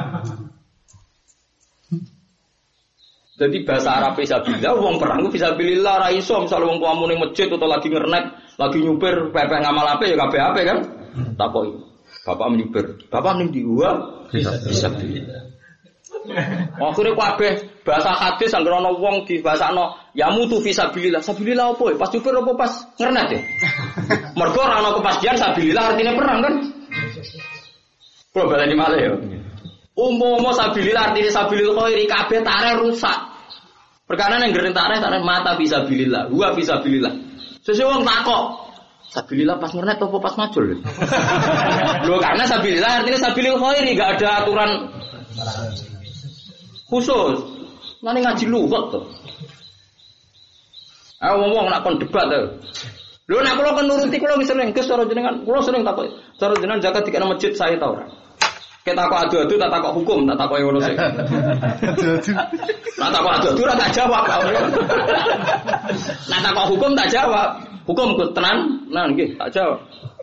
Jadi bahasa Arab fisabilillah wong perang fisabilillah ra iso misal wong tuamu ning masjid utawa lagi ngernek lagi nyupir pepeh ngamal apa ya kabeh ape kan takoki bapak nyupir bapak ning di gua bisa bisa akhire kabeh bahasa hadis anggere ana wong di bahasano ya mutu fisabilillah sabilillah apa pas nyupir apa pas ngernet ya mergo ora ana kepastian sabilillah artine perang kan kula baleni malih ya umpama sabilillah artine sabilillah khairi kabeh tareh rusak perkara nang ngeren tareh tareh mata fisabilillah gua fisabilillah. Sesuai wong takok. Sabilillah pas ngernet apa pas majul? Loh karena sabilillah artinya sabilil khairi enggak ada aturan khusus. Nane ngaji lughat to. Ah wong-wong nak kon debat to. Lho nek kula kan nuruti kula wis sering Gus cara jenengan, kula sering takok. Cara jenengan zakat dikene masjid saya ta ora? Kita takok adu-adu tak takok hukum, tak takok ngono sik. Adu-adu. Nak takok adu-adu ora tak jawab. Nak takok hukum tak jawab. Hukum ku tenan, nah nggih tak jawab.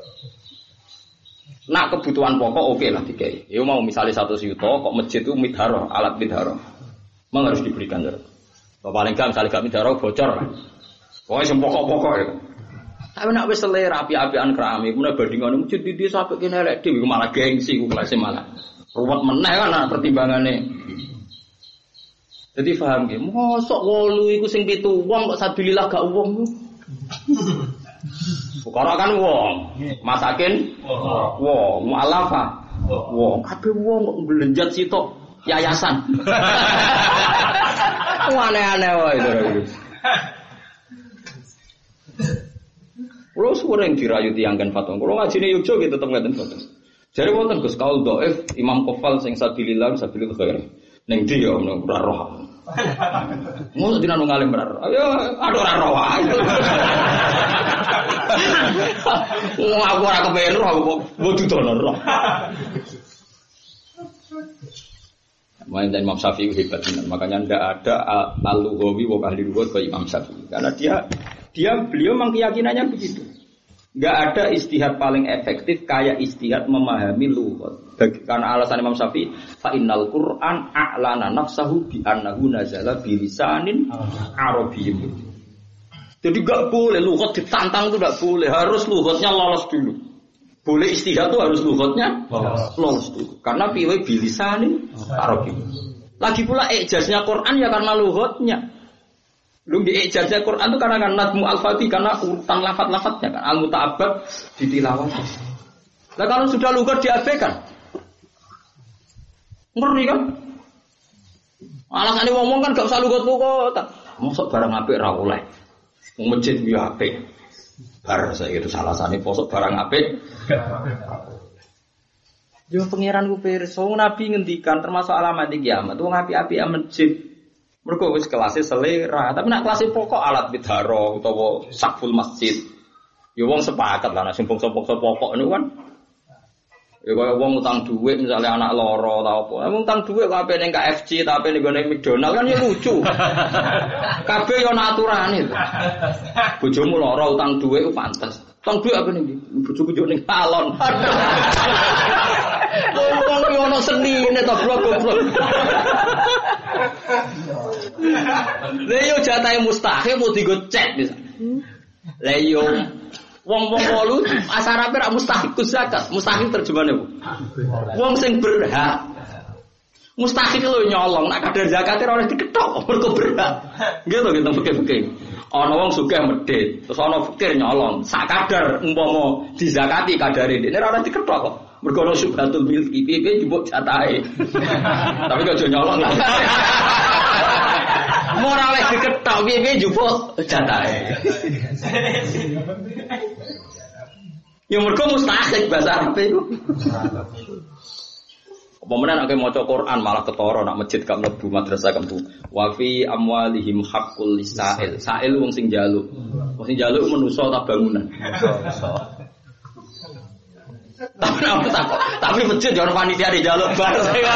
Nak kebutuhan pokok oke lah dikai. Ya mau misalnya satu juta kok masjid itu midharo, alat midharo. Memang harus diberikan ya. Paling enggak misalnya gak midharo bocor. Pokoke sing pokok-pokok ya. Tapi nak wis selera api-apian keramik, mun bandingane masjid di desa sampe kene elek dhewe malah gengsi ku kelas malah. Ruwet meneh kan pertimbangane. Jadi paham nggih, mosok wolu iku sing pitu wong kok sabilillah gak wong. Fukara kan wong, masakin wong, mu'alafa wong, kabeh wong kok belenjat sitok yayasan. Aneh-aneh wae itu. Kulo sering dirayu tiyangken fatwa. Kulo ngajine Yogya gitu tetep ngaten fatwa. Jare wonten Gus kaul dhaif Imam Qofal sing sabilillah sabilil khair. Ning ndi ya ono ora roh. Ngono dina nang ngalim ora roh. Ayo ada ora roh wae. Wong aku ora kepen roh kok bodu dono roh. Main dan Imam Syafi'i hebat benar. Makanya tidak ada al-lughawi wa ahli lughat ke Imam Syafi'i. Karena dia dia beliau memang keyakinannya begitu. Enggak ada istihad paling efektif kayak istihad memahami lughat. Karena alasan Imam Syafi'i, fa innal Qur'an a'lana nafsahu bi annahu nazala bi lisanin arabiyyin. Jadi enggak boleh lughat ditantang itu enggak boleh, harus lughatnya lolos dulu. Boleh istihad itu harus lughatnya lolos dulu. Karena piwe bilisanin Arabi. Lagi pula ijaznya Quran ya karena lughatnya. Lu di ijaznya Quran itu karena kan nazmu al-fatih karena urutan lafaz-lafaznya kan al-muta'abbad ditilawah. Nah kalau sudah lughat diabaikan. Ngeri kan? Alasane ngomong kan gak usah lughat-lughat. Mosok barang apik ra oleh. Wong masjid yo apik. Bar saya itu salah satu posok barang apik. Yo pangeran ku pirsa, Nabi ngendikan termasuk alamat kiamat, wong api-api masjid. Mergo wis kelasé selera, tapi nek kelasé pokok alat bidharo utawa sakful masjid. Ya wong sepakat lah nek sing bangsa-bangsa pokok niku kan. Ya kaya wong utang dhuwit misalnya anak loro ta apa. Wong utang dhuwit kok ape ning K F C ta ape ning gone McDonald kan ya lucu. Kabeh yo ana aturane. Bojomu loro utang dhuwit ku pantes. Utang dhuwit ape ning ndi? Bojoku yo ning salon. Wong yo ono senine to goblok. Lah yo jatahe mustahil mau digo cek bisa. Lah yo wong-wong wolu asarape ra mustahil zakat. Mustahil terjemahane apa? Wong sing berhak. Mustahil lho nyolong nek kadar zakate ora diketok mergo berhak. Nggih to gitu fikih-fikih. Ana wong sugih medhit, terus ana fikir nyolong. Sak kadar umpama dizakati kadare dene ora diketok kok. Mergo ana subhatul milki piye njupuk jatahe. Tapi kok aja nyolong lah. Moral wis diketok piye njupuk jatahe. Ya mergo mustahil bahasa Arab iku. Apa menan nek maca Quran malah ketara nak masjid gak mlebu madrasah gak mlebu. Wa fi amwalihim haqqul lisail. Sail wong sing njaluk. Wong sing njaluk manusa ta bangunan. Tapi tapi masjid jangan panitia di jaluk bar.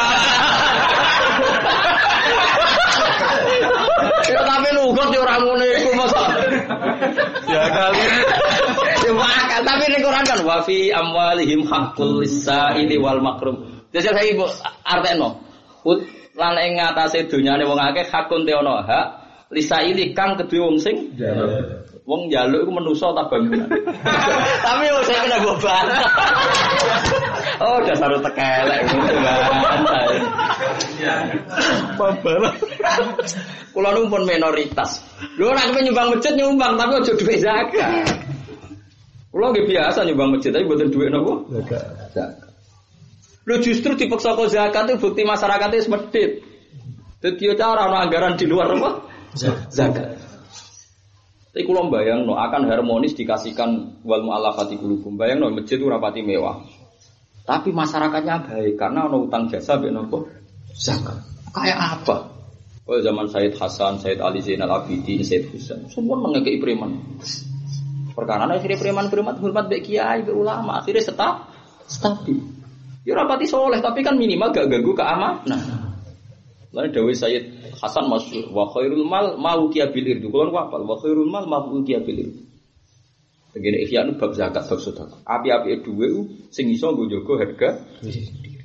Tapi nugot di orang ngono iku masa. Ya kali. Ya makal tapi ning Quran kan wa fi amwalihim haqqul lisaili wal makrum. Jadi saya ibu artekno. Lan ing ngatasé donyane wong akeh hakun te ana hak lisaili kang kedue wong sing njaluk. Wong njaluk iku manusa ta bangunan. Tapi wong saya kena beban. Oh, dasar tekelek ngono banget. Babar. Kula nu pun minoritas. Lho nek nyumbang masjid nyumbang tapi aja dhuwit zakat. Kula nggih biasa nyumbang masjid tapi mboten dhuwit napa? Zakat. Lho justru dipaksa kok zakat itu bukti masyarakatnya wis medhit. Dadi cara ana anggaran di luar apa? Zakat. Tapi kalau bayang no akan harmonis dikasihkan wal mu'allafati qulubum. Bayang no masjid itu rapati mewah. Tapi masyarakatnya baik karena ono utang jasa mbek nopo? Zakat. Kayak apa? Oh zaman Said Hasan, Said Ali Zainal Abidin, Said Husain, semua mengekei preman. Perkara akhirnya preman-preman hormat mbek kiai, mbek ulama, akhirnya tetap stabil. Ya rapati soleh tapi kan minimal gak ganggu keamanan. Nah. Lalu dawuh Sayyid Hasan masyhur wa khairul mal mauqiya bil irdu. Kulo apa? Wa khairul mal mauqiya bil irdu. Begini ikhya nu bab zakat bab sedekah. Api-api dhuwit sing iso nggo njaga harga diri.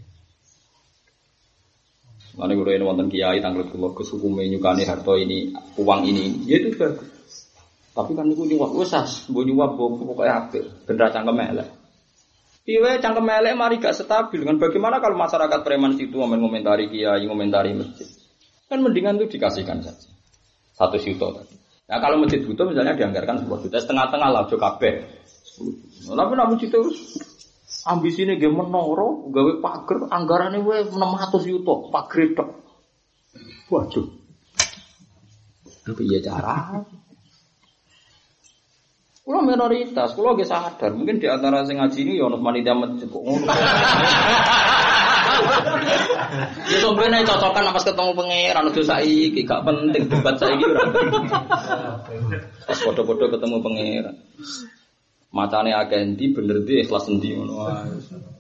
Mane kulo yen wonten kiai tanglet kula Gus hukume nyukane harta ini, uang ini, ya itu bagus. Tapi kan niku nyuwak wis as, mbok nyuwak pokoke apik, ben ra cangkem elek. Piye cangkem elek mari gak stabil kan bagaimana kalau masyarakat preman situ ngomentari kiai, ngomentari masjid. Kan mendingan itu dikasihkan saja. Satu juta tadi. Nah kalau masjid butuh misalnya dianggarkan sepuluh juta, setengah-tengah lah aja kabeh. Tapi nek masjid terus ambisine nggih menara, gawe pager, anggarane wae enam ratus juta, pager tok. Waduh. Piye cara? Kulo minoritas, kulo nggih sadar, mungkin di antara sing ngaji ini ya ono panitia masjid kok ngono. Ya sebenarnya cocokan pas ketemu pangeran udah saiki gak penting debat saiki ora. Pas foto-foto ketemu pangeran. Matane akeh endi bener ndi ikhlas endi ngono wae.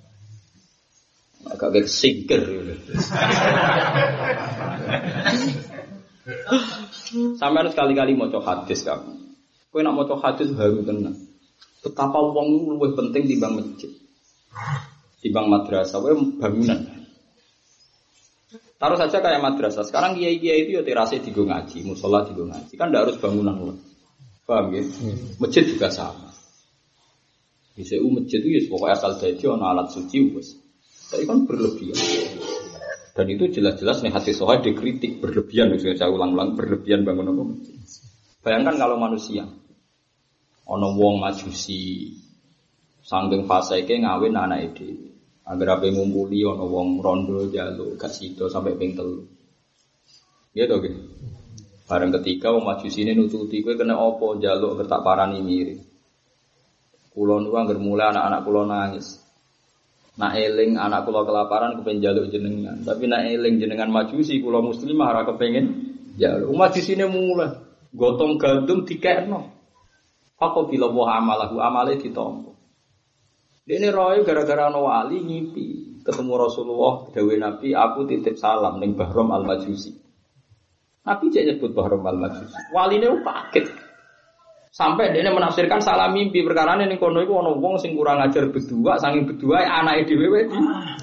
Agak gek singkir. Sampeyan sekali-kali maca hadis kamu. Kowe nak maca hadis haru tenan. Betapa wong luwih penting timbang masjid. Timbang madrasah wae bangunan. Taruh saja kayak madrasah. Sekarang kiai-kiai itu ya terase digo ngaji, musala digo ngaji. Kan ndak harus bangunan loh. Paham ya? Masjid juga sama. Bisa u masjid itu ya pokoknya asal dadi ana alat suci wis. Tapi kan berlebihan. Dan itu jelas-jelas nih hadis sahih dikritik berlebihan, saya ulang-ulang berlebihan bangun apa masjid. Bayangkan kalau manusia ana wong majusi sanggeng fasike ngawin anake dhewe. Agar ape ngumpuli ana wong rondo njaluk gak sida sampai ping telu. Iya to, Nggih. Bareng ketika wong majusine nututi kowe kena apa njaluk kertak parani mirip. Kula niku anggere mulai anak-anak kula nangis. Nak eling anak kula kelaparan kepen njaluk jenengan, tapi nak eling jenengan majusi kula muslimah ora kepengin njaluk. Majusine mulai gotong gandum dikekno. Apa bila wa amalahu amale ditampa. Dene roe gara-gara ana wali ngimpi ketemu Rasulullah dawuh Nabi aku titip salam ning Bahram Al-Majusi. Nabi cek nyebut Bahram Al-Majusi. Waline kaget. Sampai dia menafsirkan salah mimpi perkara ini kono iku ana wong sing kurang ajar berdua saking berdua anake dhewe di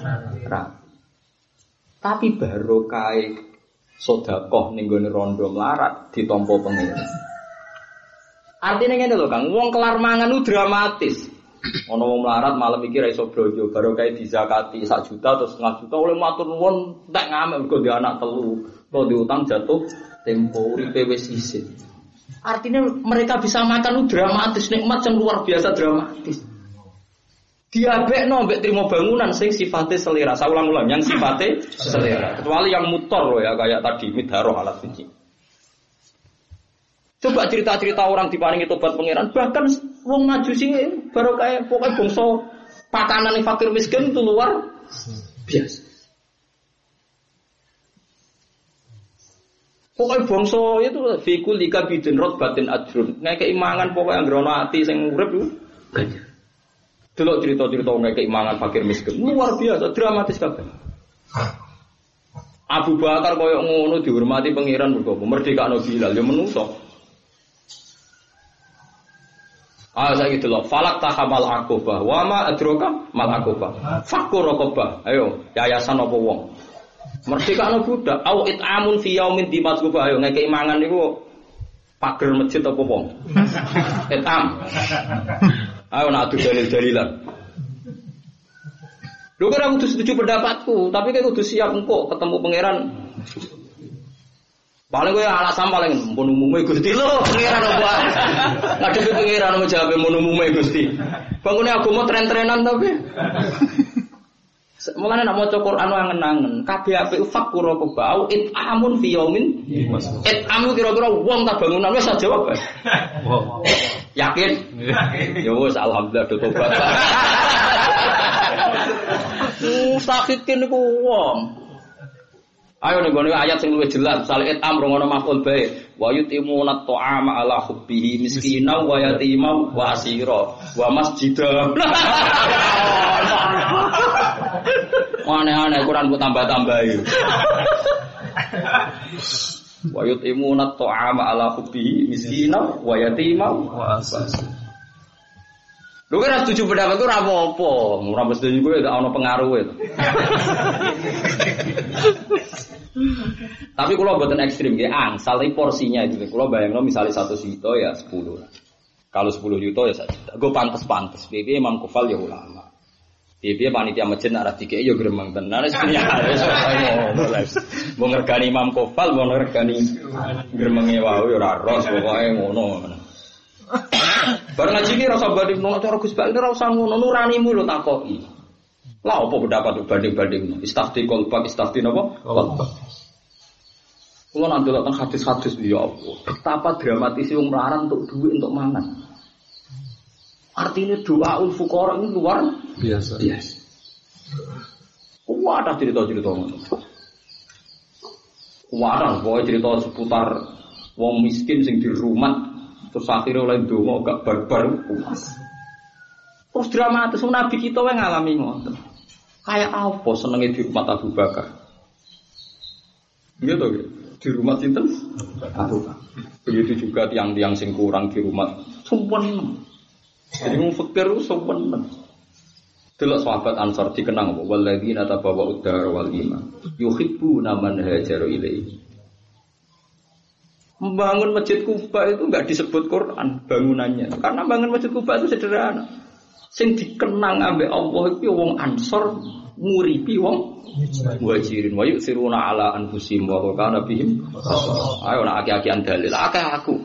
tapi barokah sedekah ning gone rondo melarat ditampa pengen. Artine ngene lho Kang, wong kelar mangan ku dramatis. Ana wong melarat malam iki ra iso blojo, barokah dizakati sak juta atau setengah juta oleh matur nuwun tak ngamek mergo dia anak telu, kok diutang jatuh tempo uripe wis isin. Artinya mereka bisa makan itu dramatis, nikmat yang luar biasa dramatis. Diabekno mbek trimo bangunan sing sifatnya selera. Saya ulang-ulang yang sifatnya selera. Kecuali yang mutor loh ya kayak tadi midharoh alat suci. Coba cerita-cerita orang diparingi tobat pangeran, bahkan wong majusi baru kayak pokoknya bangsa pakanan fakir miskin itu luar biasa. Pokoknya bangsa itu fikul lika bidin rot batin ajrun. Nek keimangan pokoknya ngrono ati sing urip iku banyak. Delok cerita-cerita nek keimangan fakir miskin luar biasa dramatis kabeh. Abu Bakar koyo ngono dihormati pangeran mergo merdekakno Bilal ya menungso. Ah saiki delok falak tahamal aqobah wa ma adroka mal aqobah. Fakur raqabah. Ayo yayasan apa wong? Merdekakno budak au it'amun fi yaumin dimasku ayo ngeke imangan niku pager masjid apa wong. It'am. Ayo nak adu dalil-dalilan. Lho kira kudu setuju pendapatku, tapi kan kudu siap engko ketemu pangeran. Paling kowe alasan paling mun umume Gusti lho, pangeran apa? Ngadepi pangeran mau jawab mun umume Gusti. Bangune agama tren-trenan tapi. Mulane nek maca Quran angen-angen, kabeh apik fakura kebau it'amun fi yaumin. It'amu kira-kira wong tak bangunan wis jawab. Wow. Yakin? Yakin. Ya wis alhamdulillah do tobat. Mustaqiqin niku wong. Ayo ning gone ayat sing luwih jelas, misale it'am rongono maf'ul bae. Wa yutimuna ta'ama ala hubbihi miskina wa yatima wa asira wa masjidah. Aneh-aneh Quran ku tambah-tambahi. Wa yutimuna ta'ama ala hubbihi miskina wa yatima wa asira. Lho kira setuju pendapat ku ora apa-apa, ora mesti kowe gak ono pengaruhe. Tapi kalau buatan ekstrim, ya angsal porsinya itu. Kalau bayangno misalnya satu juta ya sepuluh. Kalau sepuluh juta ya satu juta. Gue pantes-pantes. Bibi Imam Kufal ya ulama. Bibi panitia masjid nak ratike ya gremeng tenan. Sebenarnya harus mau ngergani Imam Kufal, mau ngergani gremenge wae ya ora ros pokoke ngono. Bareng ngaji iki rasa banding nang cara Gus Bak ora usah ngono nuranimu lho takoki. Lah apa pendapat banding-banding istafti kolbak istafti napa? Kolbak. Kulo nak ndelok teng hadis-hadis ya Allah. Betapa dramatis wong mlarang untuk duit untuk mangan. Artinya doaul fuqara ini luar biasa. Biasa. Wah, ada cerita-cerita ngono. Wah, ada cerita seputar wong miskin sing dirumat terus akhirnya oleh donga gak barbar puas. Terus dramatis Nabi kita wae ngalami ngoten. Kayak apa senenge di rumah Abu Bakar? Gitu gitu. Di rumah sinten? Abu Bakar. Begitu juga tiang-tiang sing kurang di rumah sumpen. Jadi wong fakir sumpen. Delok sahabat Ansar dikenang apa? Walladzina tabawwa'ud dar wal iman yuhibbuna man hajara ilaihi. Membangun Masjid Kuba itu enggak disebut Quran bangunannya. Karena bangun Masjid Kuba itu sederhana. Sing dikenang ambek Allah iki wong Ansor nguripi wong Muhajirin wa yusiruna ala anfusihim wa kana bihim. Ayo nak aki-akian dalil akeh aku.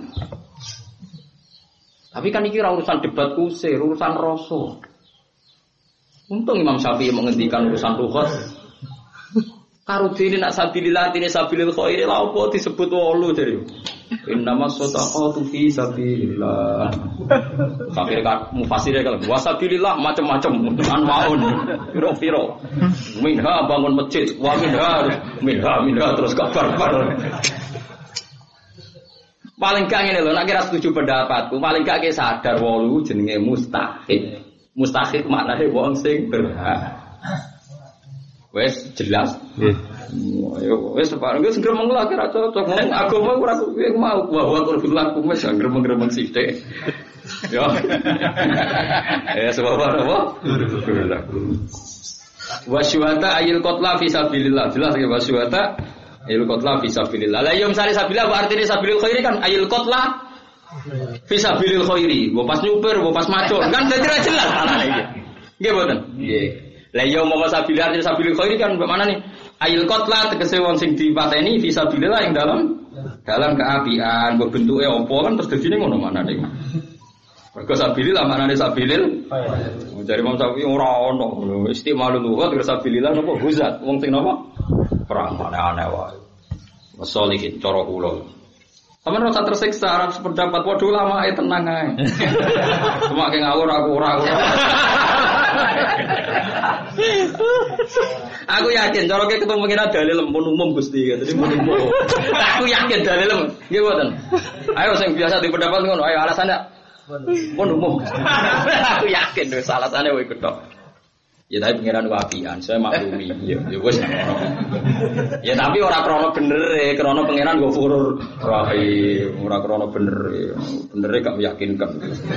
Tapi kan iki ora urusan debat kusir, urusan rasa. Untung Imam Syafi'i menghentikan urusan lughat. Karo dene nak sabilillah dene sabilil khair lha opo disebut wolu jare. Innamas shadaqatu fi sabilillah. Sampai kan mufasirnya kalau wasabilillah macam-macam anwaun piro-piro. Minha bangun masjid, wa minha minha minha terus kabar bar. Paling gak ngene lho, nek kira setuju pendapatku, paling gak sadar wolu jenenge mustahik. Mustahik maknane wong sing berhak. Wes jelas. Nggih. Wes separeng wis gremeng lah kira cocok ngomong agama ora kuwi mau bahwa kudu laku wis gremeng-gremeng sithik. Yo. Eh sebab apa? Kudu laku. Wasyuhata ayil qatla fi sabilillah. Jelas ya wasyuhata ayil qatla fi sabilillah. La yum sari sabilillah wa artine sabilil khairi kan ayil qatla fi sabilil khairi. Mbok pas nyuper, mbok pas macul kan dadi ra jelas anane iki. Nggih mboten? Nggih. La yum mau sabilillah artine sabilil khairi kan mana nih? Ayil qatla tegese wong sing dipateni fi sabilillah yang dalam dalam keapian, mbok bentuke apa kan terus dadine ngono manane. Mergo sabilillah maknane sabilil. Jare Imam Syafi'i ora ono. Istimalul lughat terus sabilillah napa huzat. Wong sing napa? Perang aneh-aneh wae. Wasolihin cara kula. Sampeyan rasa tersiksa arep sependapat waduh lama ae tenang ae. Cuma ke ngawur aku ora ora. Aku yakin cara ke ketemu kena dalil pun umum Gusti ya. Dadi mun umum. Aku yakin dalil nggih mboten. Ayo sing biasa di pendapat ngono ayo alasannya pun umum. Aku yakin wis alasane wae ketok. Ya tapi pengiran wapian, saya maklumi. Ya, ya wis. Ya tapi ora krana bener e, krana pengiran go furur rahim, ora krana bener e. Bener e gak meyakinkan.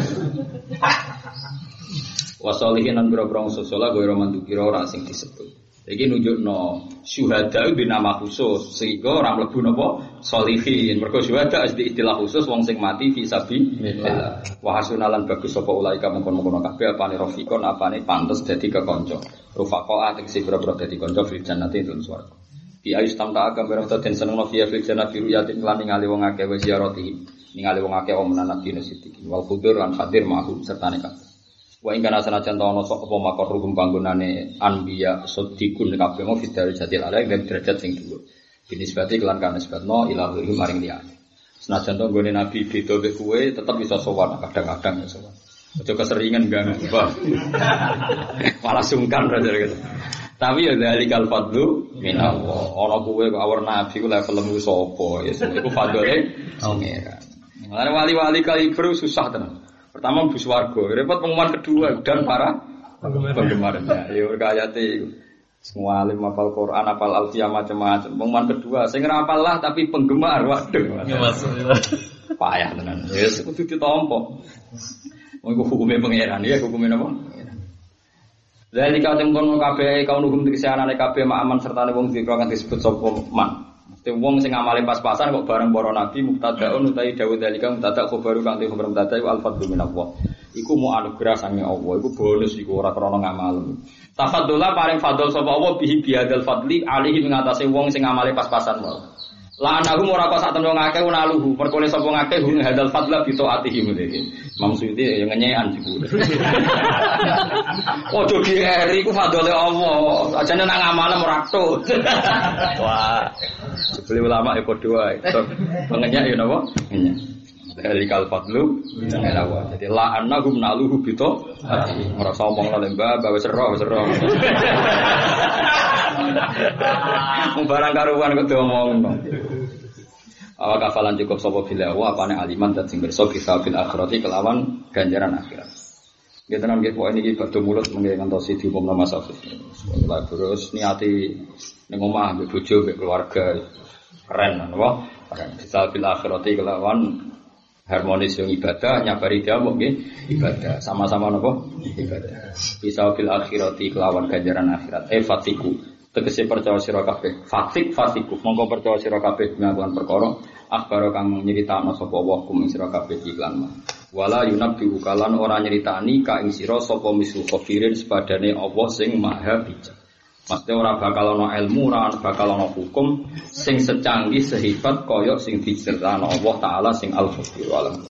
Wasolihin lan boro-boro sosola go roman dukira ora sing disebut. Iki nunjukno syuhada itu nama khusus sehingga ora mlebu napa sholihin. Mergo syuhada istilah khusus wong sing mati fi sabilillah. Wa hasunalan bagus sapa ulaika mengkon-mengkon kabeh apane rafiqon apane pantes dadi kekanca. Rufaqaa tegese boro-boro dadi kanca fil jannati ing swarga. Bi ayustam ta agam boro ten senengno fi fil jannati ruyatin lan ningali wong akeh wa ziyarati. Ningali wong akeh omenan nabi siddiqin wal khudur lan hadir ma'hum sertane kabeh. Wa ing kana sanajan ta ono sok apa makor hukum panggonane anbiya siddiqun kabeh mau fidari jatil ala ing derajat sing dhuwur. Binisbati kelan kana sebabno ilahi maring liyane. Senajan to nggone nabi beda mek kowe tetep bisa sowan kadang-kadang ya sowan. Aja keseringan ganggu Mbah. Malah sungkan ra gitu. Tapi ya zalikal fadlu minallah. Ana kowe kok awur nabi ku levelmu sapa ya iku fadlane pangeran. Mulane wali-wali kaliber susah tenan. Pertama bus warga, repot pengumuman kedua dan para penggemarnya. Ya berkayati semua alim hafal Quran, hafal alfiyah macam-macam. Pengumuman kedua, saya ngerapal lah tapi penggemar, waduh. Payah tenan. Ya kudu ditampa. Wong hukume pangeran ya, hukume napa? Jadi kalau tempoh kabeh kaum hukum dikesianane kabeh ma'aman sertane wong dikira kan disebut sapa man. Wong sing ngamale pas-pasan kok bareng para nabi muktadaun utawi dawuh dalika muktada khabaru kang te khabar muktada iku al-fadlu minallah. Iku mu anugerah sange Allah, iku bonus iku ora krana ngamal. Tafaddola paring fadl sapa Allah bihi biadal fadli alihi ngatasi wong sing ngamale pas-pasan wae. La anahum ora kok sak temen ngakeh unaluhu, perkone sapa ngakeh hum hadal fadla bi taatihi mudhe. Maksudé ya ngenyekan iku. Ojo dieri iku fadole Allah, ajane nang ngamalem ora tut. Wah. Sebeli ulama ya padha wae. Pengenyak ya napa? Ngenyak. Dalikal fadlu minallah. Jadi la annahum naluhu bi taatihi. Ora sombong lan mbah, bae sero sero. Barang karuan kok diomongno. Awak kafalan cukup sapa bila wa apane aliman dan sing berso bisa fil akhirati kelawan ganjaran akhirat. Nggih tenan nggih pokoke iki badhe mulut mengke ngantosi diumumna Mas Afif. Sekolah terus niati ning omah mbek bojo mbek keluarga keren napa? Keren bisa fil akhirati kelawan harmonis yang ibadah nyabari dia nggih ibadah sama-sama napa? Ibadah. Bisa fil akhirati kelawan ganjaran akhirat. Eh fatiku tegese percaya sira kabeh fatik fatiku mongko percaya sira kabeh nglawan perkara akhbaro kang nyritakno sapa wa kum sira kabeh iklan wala yunabbihu kalan ora nyritani ka ing sira sapa misu khabirin sepadane Allah sing maha bijak. Mesti ora bakal ana ilmu ora bakal ana hukum sing secanggih sehebat kaya sing diceritakno Allah taala sing al-khabir.